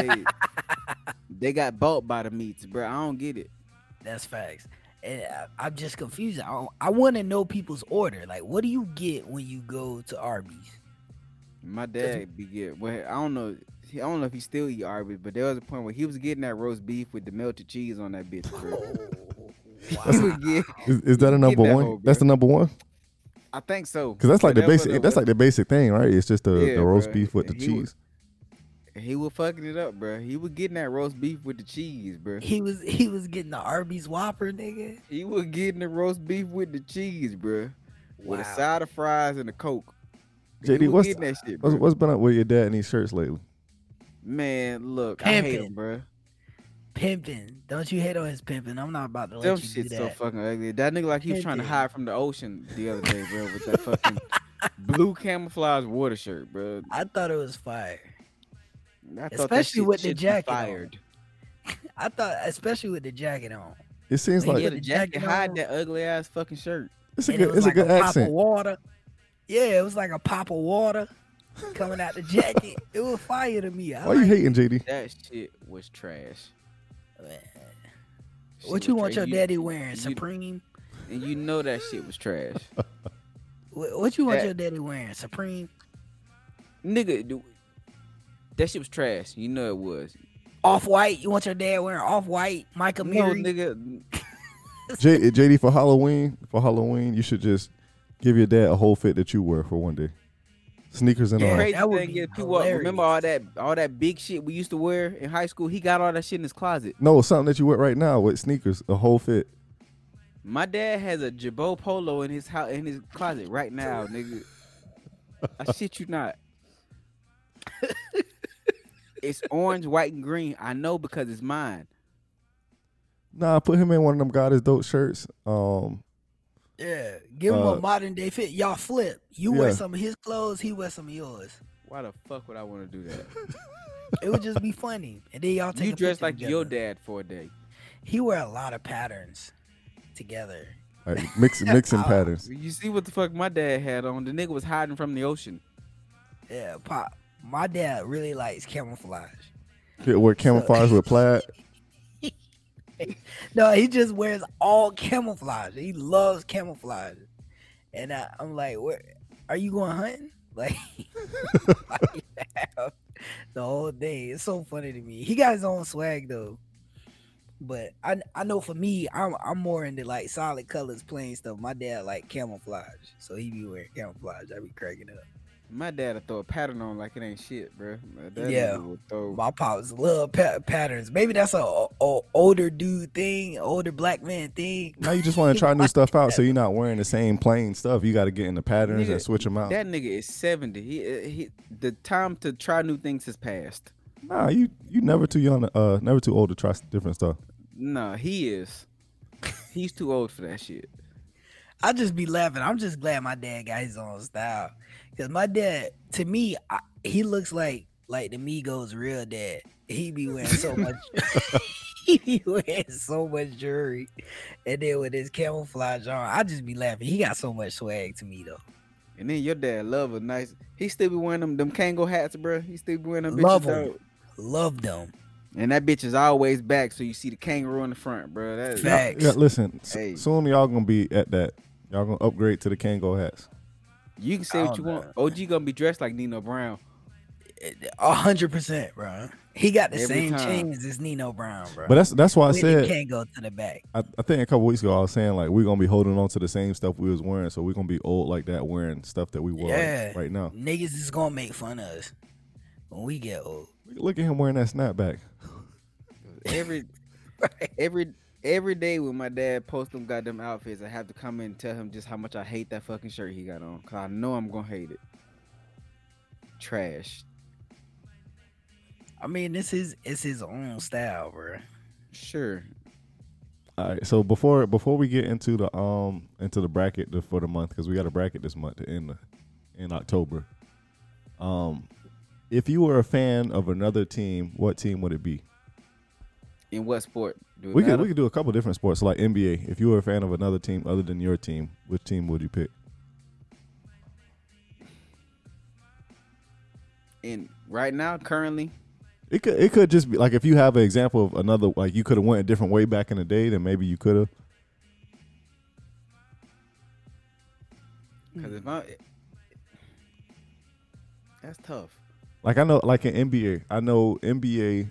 they got bought by the meats, bro. I don't get it. That's facts. And I'm just confused. I want to know people's order. Like, what do you get when you go to Arby's? My dad be getting. Well, I don't know if he still eat Arby's, but there was a point where he was getting that roast beef with the melted cheese on that bitch, bro. He Wow. would get- Is that a Get number that one? hoe, That's the bro. number one. I think so. Because that's like But the that was basic. a- That's like the basic thing, right? It's just the Yeah, roast bruh. beef with the He was- cheese. He was fucking it up, bro. He was getting that roast beef with the cheese, bro. He was getting the Arby's Whopper, nigga. He was getting the roast beef with the cheese, bro, with a Wow. side of fries and a Coke. JD, he was what's- getting that shit, bro. What's been up with your dad and these shirts lately? Man, look, I hate him, Pimpin'. bro. Pimping. Don't you hate on his pimping? I'm not about to let Them you do shit's so that. fucking ugly. That nigga like he was trying to Pimpin'. hide from the ocean the other day, bro, with that fucking blue camouflage water shirt, bro. I thought it was fire. I thought that Especially shit with the should be jacket on. fired. I thought, especially with the jacket on. It seems When like you Yeah, get the the jacket jacket hide on. that ugly ass fucking shirt. it's a And it good. was It's like a good pop of accent. water. Yeah, it was like a pop of water coming out the jacket. It was fire to me. I Why you like hating, JD? That shit was trash. it, man. Shit What you was want trash. your daddy wearing? you- Supreme? And you know that shit was trash. What you want That- your daddy wearing? Supreme? Nigga, that shit was trash. You know it was. Off-white? You want your dad wearing off-white? Micah No, Miri? nigga. JD, for Halloween, you should just give your dad a whole fit that you wear for one day. Sneakers and Yeah. all. Crazy that would thing be is, people remember all that big shit we used to wear in high school. He got all that shit in his closet. No, something that you wear right now with sneakers, a whole fit. My dad has a Jabot polo in his house, in his closet right now, nigga. I shit you not. It's orange, white, and green. I know because it's mine. Nah, put him in one of them God is dope shirts. Yeah, give him a Uh, modern day fit. Y'all flip. You yeah. wear some of his clothes, he wear some of yours. Why the fuck would I want to do that? It would just be funny. And then y'all take You a dress picture like your together. dad for a day. He wear a lot of patterns together. like mixing patterns. You see what the fuck my dad had on? The nigga was hiding from the ocean. Yeah, pop. My dad really likes camouflage. Yeah, wear camouflage with plaid. No, he just wears all camouflage. He loves camouflage. And I'm like, where are you going hunting? Like, the whole day. It's so funny to me. He got his own swag though. But I know for me, I'm more into like solid colors, plain stuff. My dad like camouflage, so he be wearing camoufage. I be cracking up. My dad will throw a pattern on like it ain't shit, bro. That Yeah. nigga will throw. My pops love patterns. Maybe that's a older dude thing, older black man thing. Now you just want to try new stuff out, so you're not wearing the same plain stuff. You got to get in the patterns Nigga, and switch them out. That nigga is 70. He the time to try new things has passed. Nah, you never too young, never too old to try different stuff. No, he is. He's too old for that shit. I just be laughing. I'm just glad my dad got his own style. Cause my dad, to me, he looks like the Migos' real dad. He be wearing so much. He be wearing so much jewelry, and then with his camouflage on, I just be laughing. He got so much swag to me though. And then your dad love a nice. He still be wearing them Kango hats, bro. He still be wearing them Love bitches 'em. out. Love them. And that bitch is always back, so you see the kangaroo in the front, bro. That is, Facts. Yeah, listen. Hey. Soon y'all gonna be at that. Y'all gonna upgrade to the Kango hats. you can say I what you don't want. OG gonna be dressed like Nino Brown. 100%, bro. He got the Every same time. chains as Nino Brown, bro. But that's why I Whitney said. can't go to the back. I think a couple weeks ago I was saying like we're gonna be holding on to the same stuff we was wearing, so we're gonna be old like that wearing stuff that we wore Yeah. right now. Niggas is gonna make fun of us when we get old. Look at him wearing that snapback. Every day when my dad posts them goddamn outfits, I have to come in and tell him just how much I hate that fucking shirt he got on. Cause I know I'm gonna hate it. trash. I mean, it's his own style, bro. Sure. All right. So before we get into the bracket for the month, because we got a bracket this month in October. If you were a fan of another team, what team would it be? In what sport? We could do a couple different sports, like NBA. If you were a fan of another team other than your team, which team would you pick? And right now, currently, It could just be like if you have an example of another, like you could have went a different way back in the day, then maybe you could have. because that's tough. Like I know, like in NBA, I know NBA.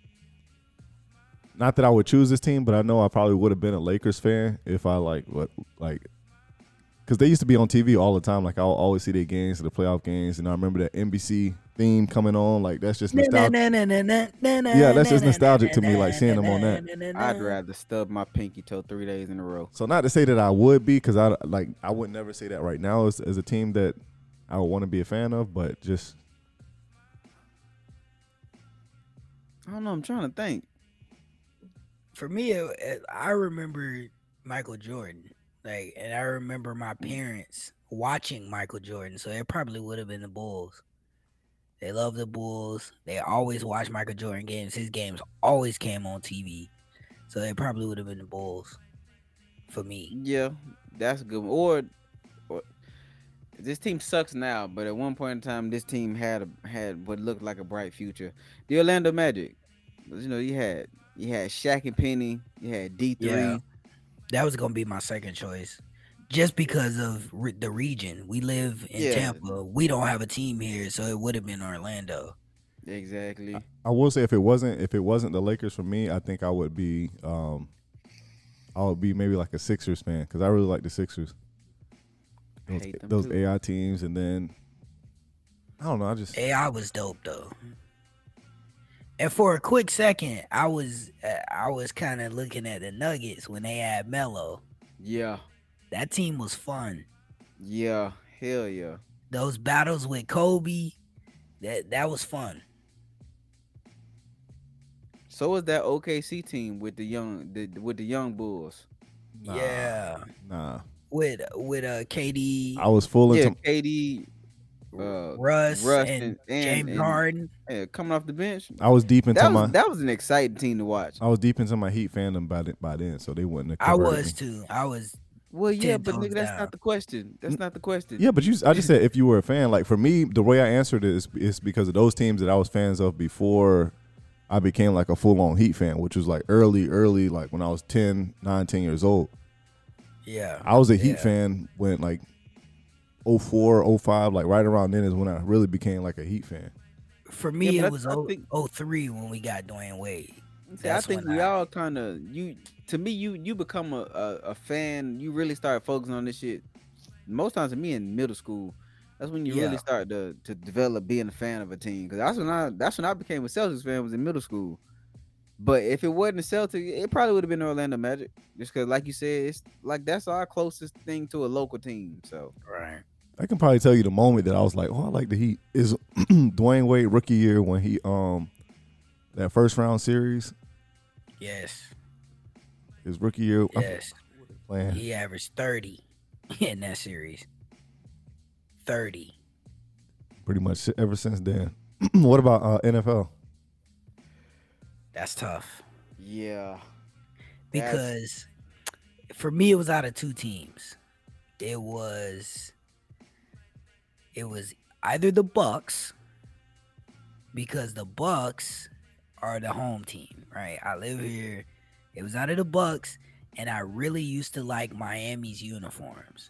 Not that I would choose this team, but I know I probably would have been a Lakers fan if I because they used to be on TV all the time. Like I'll always see their games, the playoff games, and I remember that NBC theme coming on. Like that's just nostalgic. Yeah, that's just nostalgic to me. Like seeing them on that. I'd rather stub my pinky toe 3 days in a row. So not to say that I would be, because I would never say that right now as a team that I would want to be a fan of, but just I don't know. I'm trying to think. For me, I remember Michael Jordan, and I remember my parents watching Michael Jordan, so it probably would have been the Bulls. They love the Bulls. They always watch Michael Jordan games. His games always came on TV, so it probably would have been the Bulls for me. Yeah, that's a good one. Or this team sucks now, but at one point in time, this team had what looked like a bright future. The Orlando Magic. You know, you had Shaq and Penny. You had D3. Yeah, that was gonna be my second choice, just because of the region. We live in Tampa. We don't have a team here, so it would have been Orlando. Exactly. I will say if it wasn't the Lakers for me, I think I would be maybe like a Sixers fan, because I really like the Sixers. Those AI teams, and then I don't know. AI was dope though. And for a quick second, I was kind of looking at the Nuggets when they had Melo. Yeah. That team was fun. Yeah. Hell yeah. Those battles with Kobe, that was fun. So was that OKC team with the young Bulls. Nah. With KD. I was full into KD. Russ and James Harden. Coming off the bench. I was deep into that was an exciting team to watch. I was deep into my Heat fandom by then, so they wouldn't have. I was too. Well, yeah, but nigga, that's not the question. That's not the question. Yeah, but I just said if you were a fan. Like for me, the way I answered it is because of those teams that I was fans of before I became like a full-on Heat fan, which was like early, like when I was 10 years old. Yeah. I was a Heat fan when like 04, 05, like right around then is when I really became like a Heat fan. For me, it was 03 when we got Dwayne Wade. I think we all kind of you become a fan. You really start focusing on this shit. Most times, to me in middle school, that's when you really start to develop being a fan of a team. Because that's when I became a Celtics fan, was in middle school. But if it wasn't the Celtics, it probably would have been the Orlando Magic. Just because, like you said, it's like that's our closest thing to a local team. So right. I can probably tell you the moment that I was like, oh, I like the Heat is Dwayne Wade rookie year when he that first round series. Yes. His rookie year. Yes. He averaged 30 in that series. 30. Pretty much ever since then. What about NFL? That's tough. Yeah. Because for me, it was out of two teams. It was either the Bucks, because the Bucks are the home team, right? I live here. It was out of the Bucks, and I really used to like Miami's uniforms.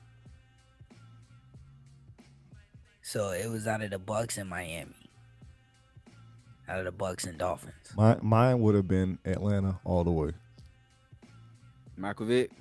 So it was out of the Bucks and Miami. Out of the Bucks and Dolphins. Mine would have been Atlanta all the way. Michael Vick.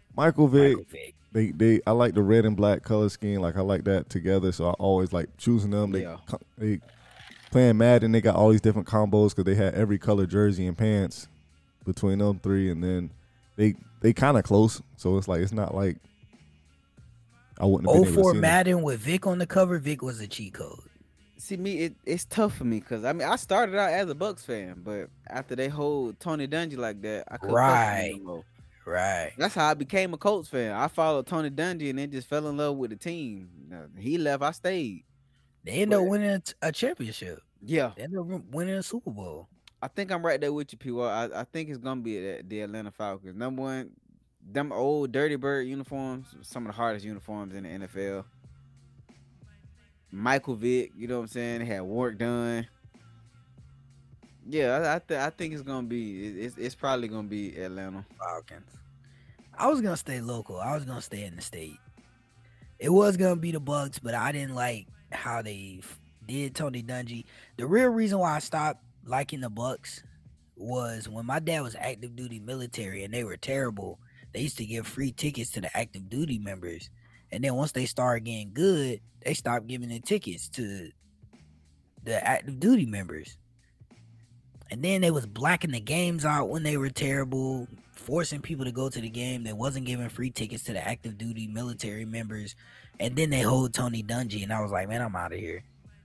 I like the red and black color scheme. Like I like that together. So I always like choosing them. They playing Madden. They got all these different combos because they had every color jersey and pants between them three, and then they kind of close. So it's like it's not like I wouldn't have been able to see Madden with Vic on the cover. Vic was a cheat code. See me, it's tough for me because I mean I started out as a Bucks fan, but after they hold Tony Dungy like that, I couldn't fuck with him Right. no more. Right. That's how I became a Colts fan. I followed Tony Dungy and then just fell in love with the team. He left, I stayed. They end up But winning a championship. yeah, They end up winning a Super Bowl. I think I'm right there with you, P. I think it's gonna be the Atlanta Falcons. Number one, them old Dirty Bird uniforms, some of the hardest uniforms in the NFL. Michael Vick, you know what I'm saying? They had work done. Yeah, I think it's gonna be it's probably gonna be Atlanta. Falcons. I was gonna stay local. I was gonna stay in the state. It was gonna be the Bucks, but I didn't like how they did Tony Dungy. The real reason why I stopped liking the Bucks was when my dad was active duty military and they were terrible. They used to give free tickets to the active duty members, and then once they started getting good, they stopped giving the tickets to the active duty members. And then they was blacking the games out when they were terrible, forcing people to go to the game. They wasn't giving free tickets to the active duty military members. And then they hold Tony Dungy, and I was like, man, I'm out of here.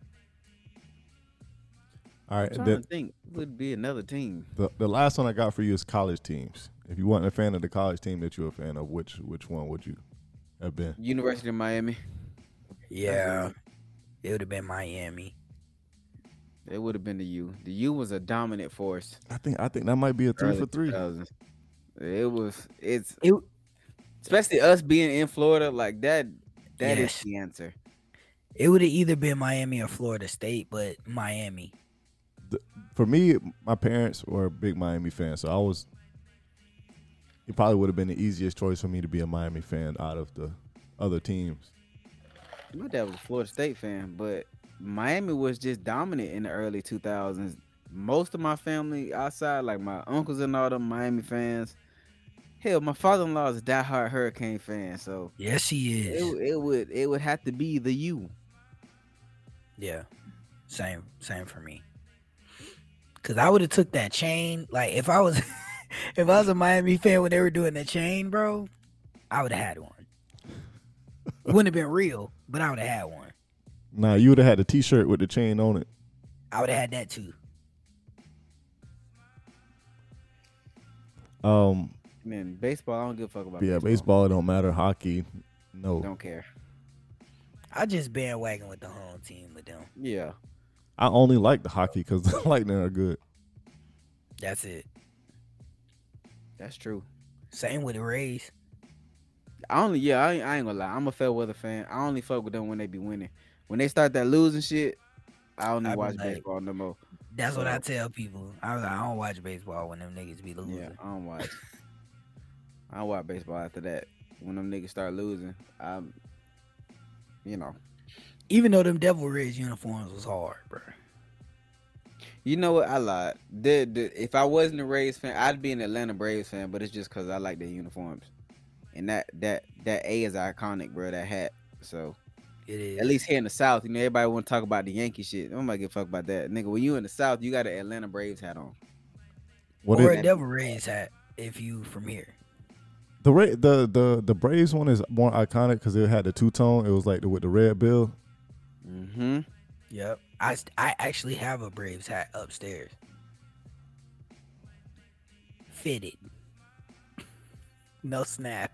All right. I'm trying to think would be another team. The last one I got for you is college teams. If you weren't a fan of the college team that you're a fan of, which one would you have been? University of Miami. Yeah, it would have been Miami. It would have been the U. The U was a dominant force. I think that might be a 3 for 3. 2000s. It's It, especially us being in Florida like that. That is Yes. the answer. it would have either been Miami or Florida State, but Miami. For me, my parents were big Miami fans, so it probably would have been the easiest choice for me to be a Miami fan out of the other teams. My dad was a Florida State fan, but Miami was just dominant in the early 2000s. Most of my family outside, like my uncles and all them Miami fans. Hell, my father-in-law is a diehard Hurricane fan, so Yes, he is. it would have to be the U. Yeah, same for me. Cause I would have took that chain. Like if I was, if I was a Miami fan when they were doing the chain, bro, I would have had one. It wouldn't have been real, but I would have had one. Nah, you would have had the T-shirt with the chain on it. I would have had that too. Man, baseball, I don't give a fuck about. Yeah, baseball don't matter. Hockey, no. Don't care. I just bandwagon with the home team with them. Yeah. I only like the hockey because the Lightning are good. That's it. That's true. Same with the Rays. I ain't gonna lie. I'm a fair weather fan. I only fuck with them when they be winning. When they start that losing shit, I only I be watch like- baseball no more. That's what I tell people. I don't watch baseball when them niggas be losing. Yeah, I don't watch. I don't watch baseball after that. When them niggas start losing, you know. Even though them Devil Rays uniforms was hard, bro. You know what? I lied. If I wasn't a Rays fan, I'd be an Atlanta Braves fan. But it's just because I like their uniforms, and that A is iconic, bro. That hat. So It is. at least here in the South, you know, everybody want to talk about the Yankee shit. Nobody give a fuck about that, nigga. When you in the South, you got an Atlanta Braves hat on. What Or is a Devil Rays hat if you from here. the Braves one is more iconic because it had the two-tone. It was like with the red bill. Mm-hmm. Yep. I actually have a Braves hat upstairs. Fitted. No snap.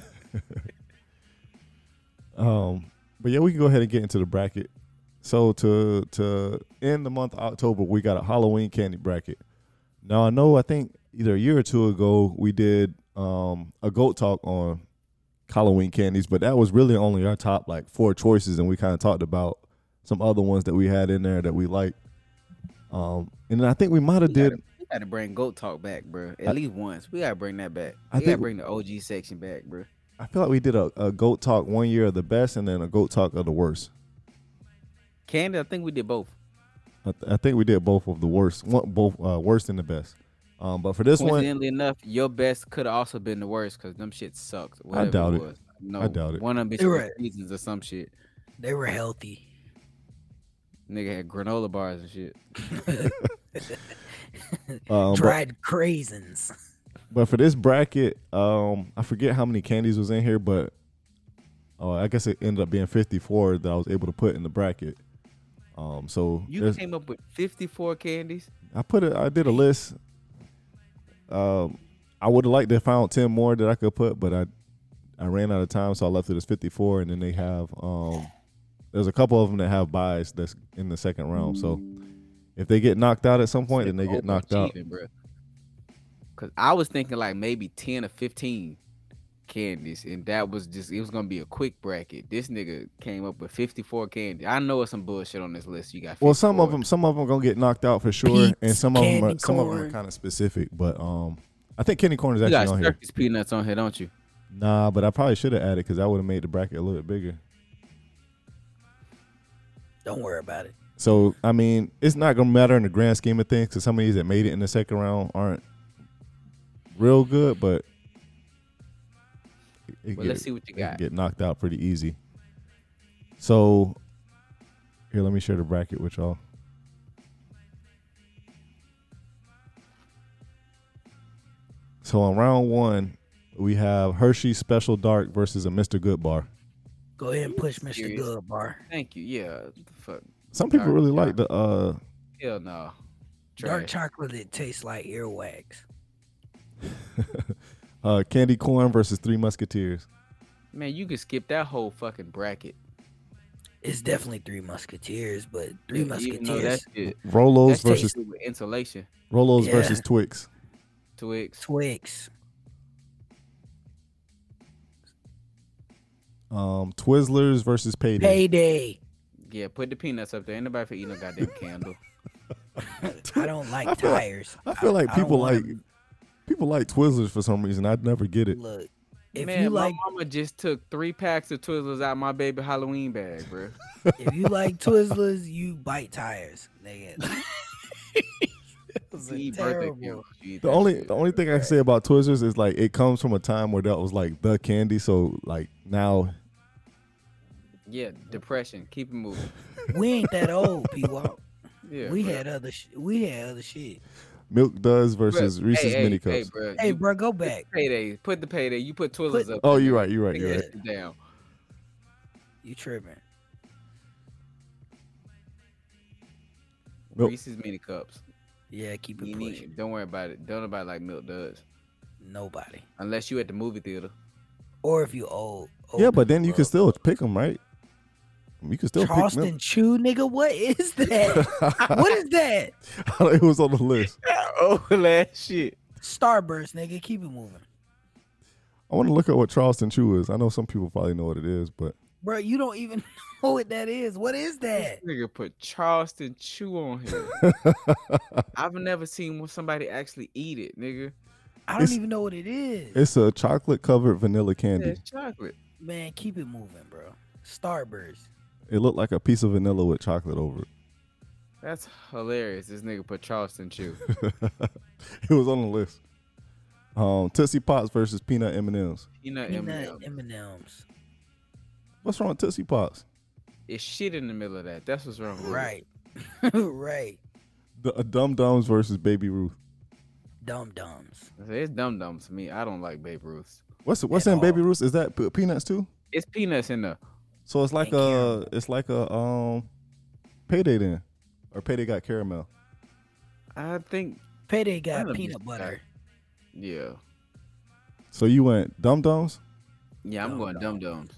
But yeah, we can go ahead and get into the bracket. So to end the month of October, we got a Halloween candy bracket. Now I think either a year or two ago we did a GOAT talk on Halloween candies, but that was really only our top like 4 choices, and we kind of talked about some other ones that we had in there that we liked. And then I think we might have did. We gotta bring GOAT talk back, bro. At least once. We gotta bring that back. I We gotta think- bring the OG section back, bro. I feel like we did a GOAT talk one year of the best, and then a GOAT talk of the worst. Candy, I think we did both. I think we did both of the worst, both worst and the best. But for this one, Coincidentally enough, your best could have also been the worst because them shit sucked. whatever doubt it. was. No, I doubt it. One of them You're bitches right. seasons or some shit. They were healthy. Nigga had granola bars and shit. Dried craisins. But for this bracket, I forget how many candies was in here, but I guess it ended up being 54 that I was able to put in the bracket. So You came up with 54 candies. I did a list. I would have liked to have found 10 more that I could put, but I ran out of time, so I left it as 54. And then they have there's a couple of them that have buys that's in the second round. So if they get knocked out at some point, then they get knocked out. Because I was thinking like maybe 10 or 15 candies, and that was just, it was gonna be a quick bracket. This nigga came up with 54 candies. I know it's some bullshit on this list. You got 54. Well, some of them gonna get knocked out for sure, Pete's and some of them candy are kind of specific. But I think candy corn is You actually got on here. Circus peanuts on here, don't you? Nah, but I probably should have added because that would have made the bracket a little bit bigger. Don't worry about it. So I mean, it's not gonna matter in the grand scheme of things because some of these that made it in the second round aren't real good, but Let's see what you got. Get knocked out pretty easy. So here, let me share the bracket with y'all. So on round 1, we have Hershey Special Dark versus a Mr. Good bar. Go ahead and push Mr. Serious? Good Bar. Thank you. Yeah. What the fuck. Some people Dark really chocolate. like the Hell no. Dark Trash. chocolate that tastes like earwax. candy corn versus Three Musketeers. Man, you could skip that whole fucking bracket. It's definitely Three Musketeers, but Three Even though Musketeers. that shit, Rolos that's versus tasted with insulation. Rolos Yeah. versus Twix. Twix. Twix. Twizzlers versus Payday. Payday. Yeah, put the peanuts up there. Ain't nobody for eating no goddamn candle. I don't like I feel like- tires. I feel like I don't people wanna- like people like Twizzlers for some reason. I'd never get it. Look, if Man, you my like mama just took 3 packs of Twizzlers out my baby Halloween bag, bro. if you like Twizzlers, you bite tires, nigga. Those are You eat birthday terrible. candles, you eat The that only shit. the only thing I can say about Twizzlers is like it comes from a time where that was like the candy. So like now, Yeah, depression. Keep it moving. We ain't that old, P-Walk. Yeah, we bro. had other we had other shit. Milk Duds Bro, versus Reese's hey, Mini hey, Cups. bro. Hey, you bro, go back. payday. Put the payday. You put Twizzlers Put- up. Oh, there, you're nigga. right. You're right. You're Yeah. right. Sit down. You tripping? Milk- Reese's mini cups. Yeah, keep it You pushing. need, don't worry about it. Don't nobody like Milk Duds. Nobody. Unless you at the movie theater. Or if you old. Yeah, but then you bro. can still pick them, right? You can still pick Charleston Milk. Chew, nigga. What is that? What is that? It was on the list. Oh, last shit. Starburst, nigga. Keep it moving, I want to look at what Charleston Chew is. I know some people probably know what it is, but bro. You don't even know what that is. What is that? This nigga put Charleston Chew on here. I've never seen somebody actually eat it, nigga. I don't It's- even know what it is. it's a chocolate covered vanilla Yeah, candy. it's chocolate. Man, keep it moving, bro. Starburst. It looked like a piece of vanilla with chocolate over it. That's hilarious. This nigga put Charleston Chew. It was on the list. Tootsie Pops versus peanut M&Ms. Peanut Peanut M&M. M&Ms. What's wrong with Tootsie Pops? It's shit in the middle of that. That's what's wrong with it. Right. Right. The Dum Dums versus Baby Ruth. Dum Dums. It's Dum Dums to me. I don't like Babe Ruth. What's At in Baby all. Ruth? Is that peanuts too? It's peanuts in there. So it's like And a Payday then, or Payday got caramel. I think, Payday got None of peanut these butter. yeah. So you went Dum Dums. Yeah, I'm Dum going Dum Dums.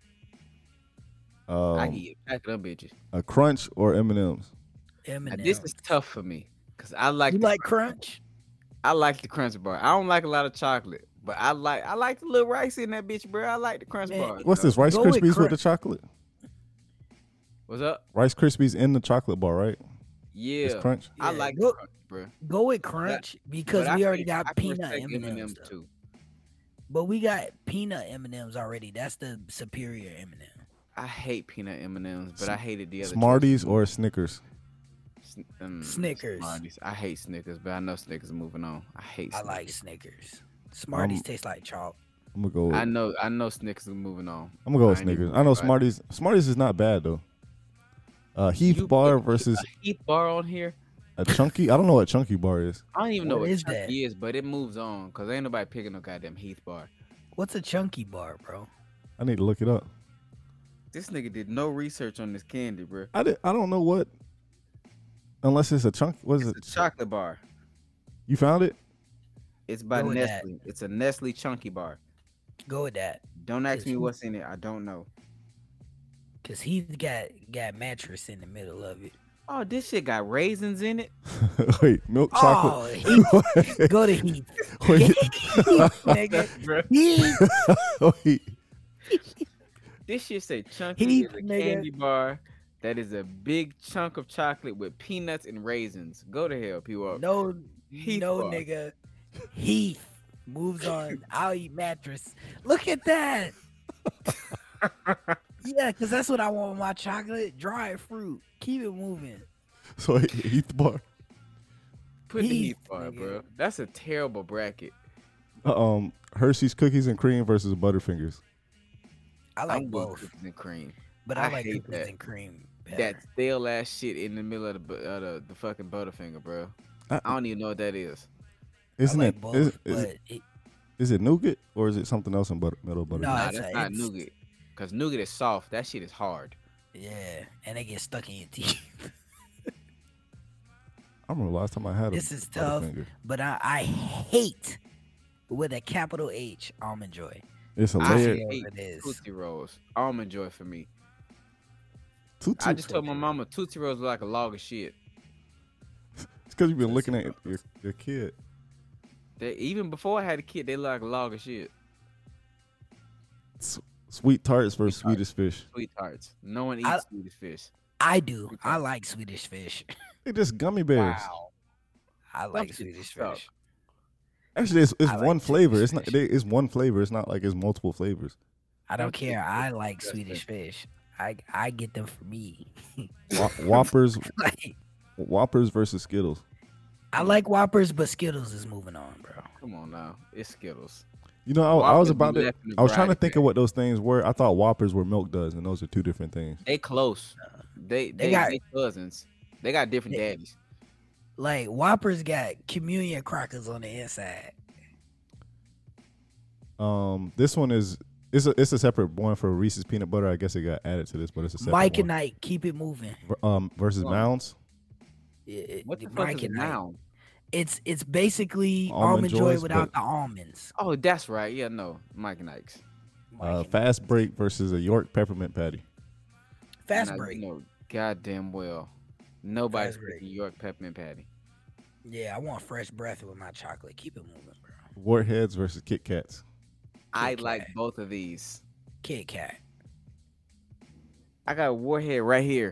I Um, can eat a pack of them bitches. a Crunch or M&Ms. Now, M&Ms. this is tough for me because I like You the like Crunch? I like the Crunch bar. I don't like a lot of chocolate, but I like the little rice in that bitch, bro. I like the Crunch Man, bar. What's bro. this? Rice Go with Krispies with Crunch. the chocolate. What's up? Rice Krispies in the chocolate bar, right? Yeah, It's Crunch. I Yeah, like go- the Crunch, bro. Go with Crunch because But I we already can- I got can peanut respect M&Ms. though. too. But we got peanut M&Ms already. That's the superior M&M. I hate peanut M&Ms, but I hated the other Smarties choices. or Snickers. Snickers. Smarties. I hate Snickers, but I know Snickers are moving on. I hate. I Snickers. like Snickers. Smarties taste like chalk. I'm gonna go. I know Snickers are moving on. I'm gonna go with I ain't even Snickers. I worried know about it. Smarties. Smarties is not bad though. Heath You Bar put versus a Heath bar on here. a Chunky. I don't know what Chunky Bar is. I don't even know What what is Chunky that? is, but it moves on because ain't nobody picking no goddamn Heath bar. What's a chunky bar, bro? I need to look it up. This nigga did no research on this candy, bro. I don't know what. Unless it's a chunk. What is It's it? a chocolate bar. You found it? It's by Go with that. Nestle. It's a Nestle Chunky bar. Go with that. Don't ask Yes, me you- what's in it. I don't know. Cause he's got mattress in the middle of it. Oh, this shit got raisins in it. Wait, milk chocolate. Heath. Go to Heath. Wait, Nigga. Heath. wait. This shit say Chunky Heath, is a nigga. candy bar that is a big chunk of chocolate with peanuts and raisins. Go to hell, P-Walk. No, Heath no, bar. nigga. Heath moves on. I'll eat mattress. Look at that. Yeah, because that's what I want with my chocolate. Dried fruit. Keep it moving. So Heath bar. Put the Heath, Heath bar, nigga. bro. That's a terrible bracket. Hershey's cookies and cream versus Butterfingers. I like I'm with both, cookies and cream. but I I like hate cookies that. and cream better. That stale ass shit in the middle of the fucking Butterfinger, bro. I don't even know what that is. Isn't I like it? both, Is it nougat or is it something else in middle butter? No, Nah, it's that's a- not it's- nougat. Cause nougat is soft. That shit is hard. yeah, and they get stuck in your teeth. I remember last time I had a This is tough. Butterfinger. But I hate with a capital H Almond Joy. It's a I layer. Yeah, hate it is. Tootsie Rolls. Almond Joy for me. Tootsie. I just told my mama Tootsie Rolls were like a log of shit. It's because you've been looking at your kid. Even before I had a kid, they look like a log of shit. Sweet tarts versus Sweet tarts. Swedish fish. Sweet tarts. No one eats I- Swedish fish. I do. I like Swedish fish. They just gummy bears. Wow. I like shit Swedish suck. fish. Actually, it's I like one flavor. It's Swedish not. It's one flavor. It's not like it's multiple flavors. I don't That's care. I like disgusting. Swedish fish. I get them for me. Whoppers, Like, Whoppers versus Skittles. I like Whoppers, but Skittles is moving on, bro. Come on now. It's Skittles. You know, I was Whoppers be about to. left in the I was trying to variety think pack. of what those things were. I thought Whoppers were Milk Duds, and those are two different things. They close. They got- they cousins. They got different Yeah. daddies. Like Whoppers got communion crackers on the inside. This one is it's a separate one for Reese's peanut butter. I guess it got added to this, but it's a separate Mike and one. Ike, keep it moving. Versus Oh. Mounds. What the fuck Mike is it and Ike. now? It's basically Almond almond joy Joys, without but- the almonds. Oh, that's right. Yeah, no. Mike and Ike's. Mike and Fast Break versus a York peppermint patty. Fast Now, break. You know, goddamn well. Nobody's Fast break. picking York peppermint patty. Yeah, I want fresh breath with my chocolate. Keep it moving, bro. Warheads versus Kit Kats. I Kit like Kat. both of these. Kit Kat. I got a Warhead right here.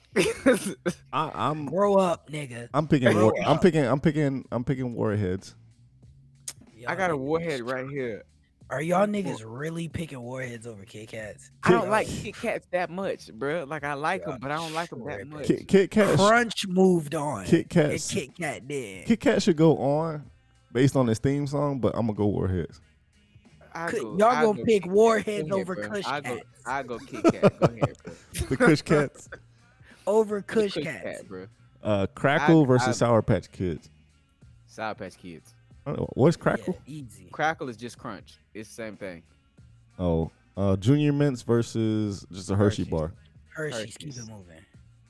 I'm Grow up, nigga. picking Grow I'm picking Warheads. I got a Y'all Warhead niggas- right here. Are y'all niggas really picking Warheads over Kit Kats? I don't like Kit Kats that much, bro. Like I like Yeah, them, but I don't like them that tripping. much. Kit Kat. Crunch moved on. Kit And Kats. Kit Kat did. Kit Kat should go on based on his theme song, but I'm gonna go Warheads. Y'all gonna pick Kit Kat. Warheads Go ahead, over bro. Kush I Cats. go Kit Kat. Go ahead, bro. The Kush Cats. Over The Kush Kush Cats. Kat, bro. Crackle I- versus Sour Patch Kids. Sour Patch Kids. I don't know. What's Yeah, Crackle? easy. Crackle is just crunch. It's the same thing. Oh, Junior Mints versus just a Hershey Hershey's. bar. Hershey's, keep Hershey's. it moving.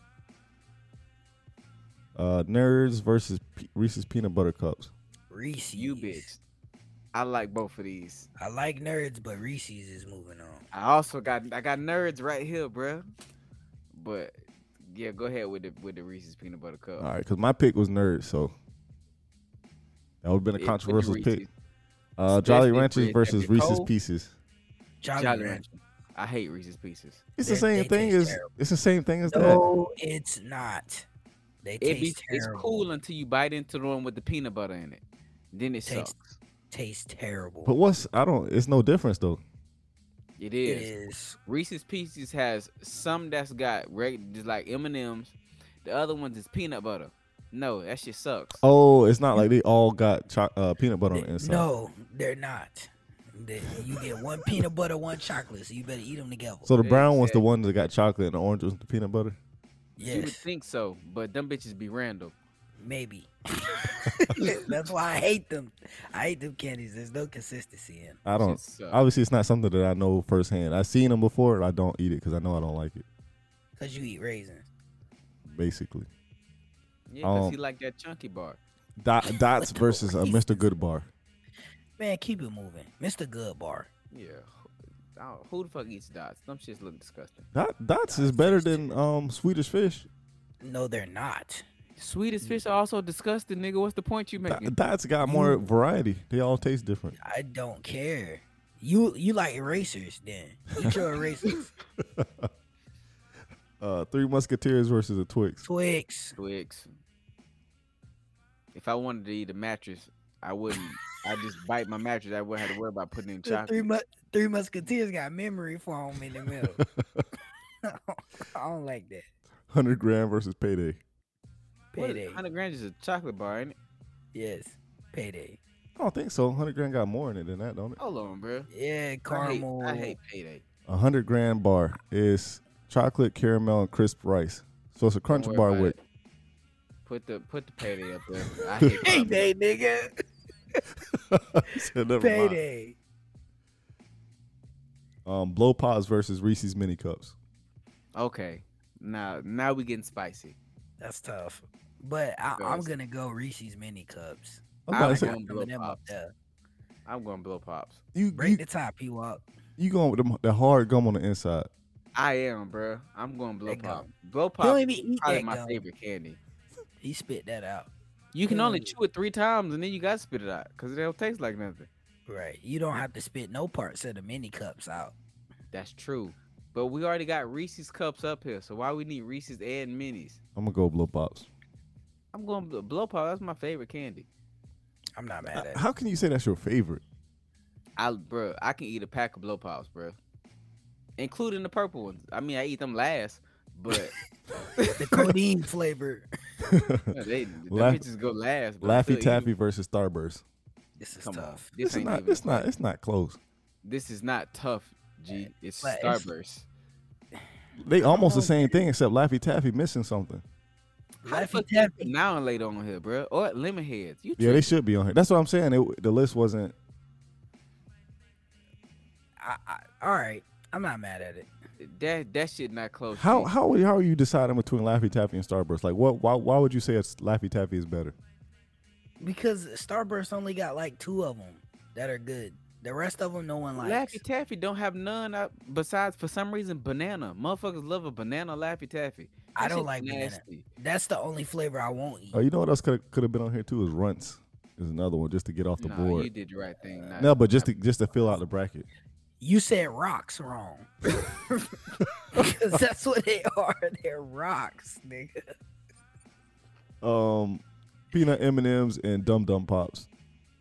Nerds versus Reese's Peanut Butter Cups. Reese's. You bitch. I like both of these. I like nerds, but Reese's is moving on. I also got nerds right here, bro. But yeah, go ahead with the Reese's peanut butter cup. All right, because my pick was Nerds, so that would have been a Yeah, put the controversial pick. Reese's. Jolly Especially Ranchers if versus it's Reese's cold. Pieces. Jolly, Jolly Rancher. Rancher. I hate Reese's Pieces. It's the They same thing taste as terrible. it's the same thing as that. No, it's not. They It's taste terrible. cool until you bite into the one with the peanut butter in it. Then it Taste- sucks. Tastes terrible. But it's no difference though. It it is. is. Reese's Pieces has some that's got just like M&M's. The other ones is peanut butter. No, that shit sucks. Oh, it's not like they all got peanut butter on the inside. No, they're not. You get one peanut butter, one chocolate, so you better eat them together. So the brown one's the Exactly. one that got chocolate and the orange was the peanut butter. You would Yes. think so, but them bitches be random. Maybe. That's why I hate them. I hate them candies. There's no consistency in. I don't. Shit suck. Obviously, it's not something that I know firsthand. I've seen them before, and I don't eat it because I know I don't like it. Cause you eat raisins. Basically, Yeah, because he Um, like that chunky bar. Dots versus a Mr. Good bar. Man, keep it moving, Mr. Good Bar. Yeah. Who the fuck eats dots? Them shits look disgusting. Dots is better than Swedish Fish. No, they're not. Sweetest fish are also disgusting, nigga. What's the point you making? Dots got more variety. They all taste different. I don't care. You like erasers then? Eat your erasers. Three Musketeers versus a Twix. Twix. Twix. If I wanted to eat a mattress, I wouldn't. I just bite my mattress. I wouldn't have to worry about putting in The chocolate. Three Musketeers got memory foam in the middle. I don't like that. 100 grand versus Payday. Payday. 100 grams is a chocolate bar, ain't it? Yes. Payday. I don't think so. 100 grand got more in it than that, don't it? Hold on, bro. Yeah, caramel. I hate payday. 100 grand bar is chocolate, caramel, and crisp rice. So it's a crunch Don't worry bar about with. it. Put the payday up there. I hate Payday, nigga. Said never mind. Payday. Blow pops versus Reese's mini cups. Okay. Now we getting spicy. That's tough. But I'm Yes. gonna go Reese's mini cups. I'm about to I'm say, going blow Them up pops. there. I'm going blow pops. Break the top, you up. you going with the hard gum on the inside. I am, bro. I'm going blow That pop. gum. Blow He pop don't is even eat probably that my gum. favorite candy. He spit that out. You can only Mm. chew it 3 times and then you gotta spit it out because it don't taste like nothing. Right. You don't have to spit no parts of the mini cups out. That's true. But we already got Reese's cups up here, so why we need Reese's and minis? I'm gonna go blow pops. I'm going blow pop. That's my favorite candy. I'm not mad at it. How can you say that's your favorite? I can eat a pack of blow pops, bro, including the purple ones. I mean, I eat them last, but The codeine flavor. them Laugh- bitches go last. But I still Laffy eat Taffy 'em. versus Starburst. This is Come on, tough. this It's ain't not. even It's not. It's not close. This is not tough, G. It's But it's- Starburst. They almost the same thing except Laffy Taffy missing something. How the Laffy fuck you put Taffy. now and later on here, bro? Or lemon heads. You Yeah, they tripping. should be on here. That's what I'm saying. The list wasn't. All right. I'm not mad at it. That shit not close. How G. how are you deciding between Laffy Taffy and Starburst? Like what? Why would you say it's Laffy Taffy is better? Because Starburst only got like 2 of them that are good. The rest of them no one likes. Laffy Taffy don't have none besides for some reason banana. Motherfuckers love a banana Laffy Taffy. I That don't shit like banana. nasty. That's the only flavor I won't eat. Oh, you know what else could have been on here too is Runts. Is another one just to get off the Nah, board. you did the right thing. No, but just to fill out the bracket. You said rocks wrong. Because that's what they are. They're rocks, nigga. Peanut M&Ms and Dum Dum Pops.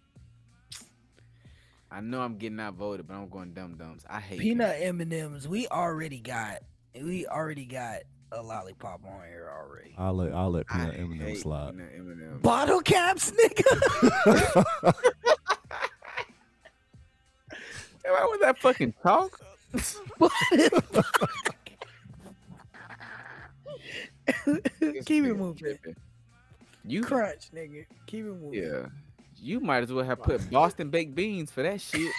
I know I'm getting outvoted, but I'm going Dum Dums. I hate Peanut M&Ms. We already got a lollipop on here already. I'll let them. Peanut M&Ms slide. Peanut M&Ms. Bottle caps, nigga. Why was that fucking talk? Keep it moving. You Crunch, nigga. Keep it moving. yeah. You might as well have put Boston baked beans for that shit.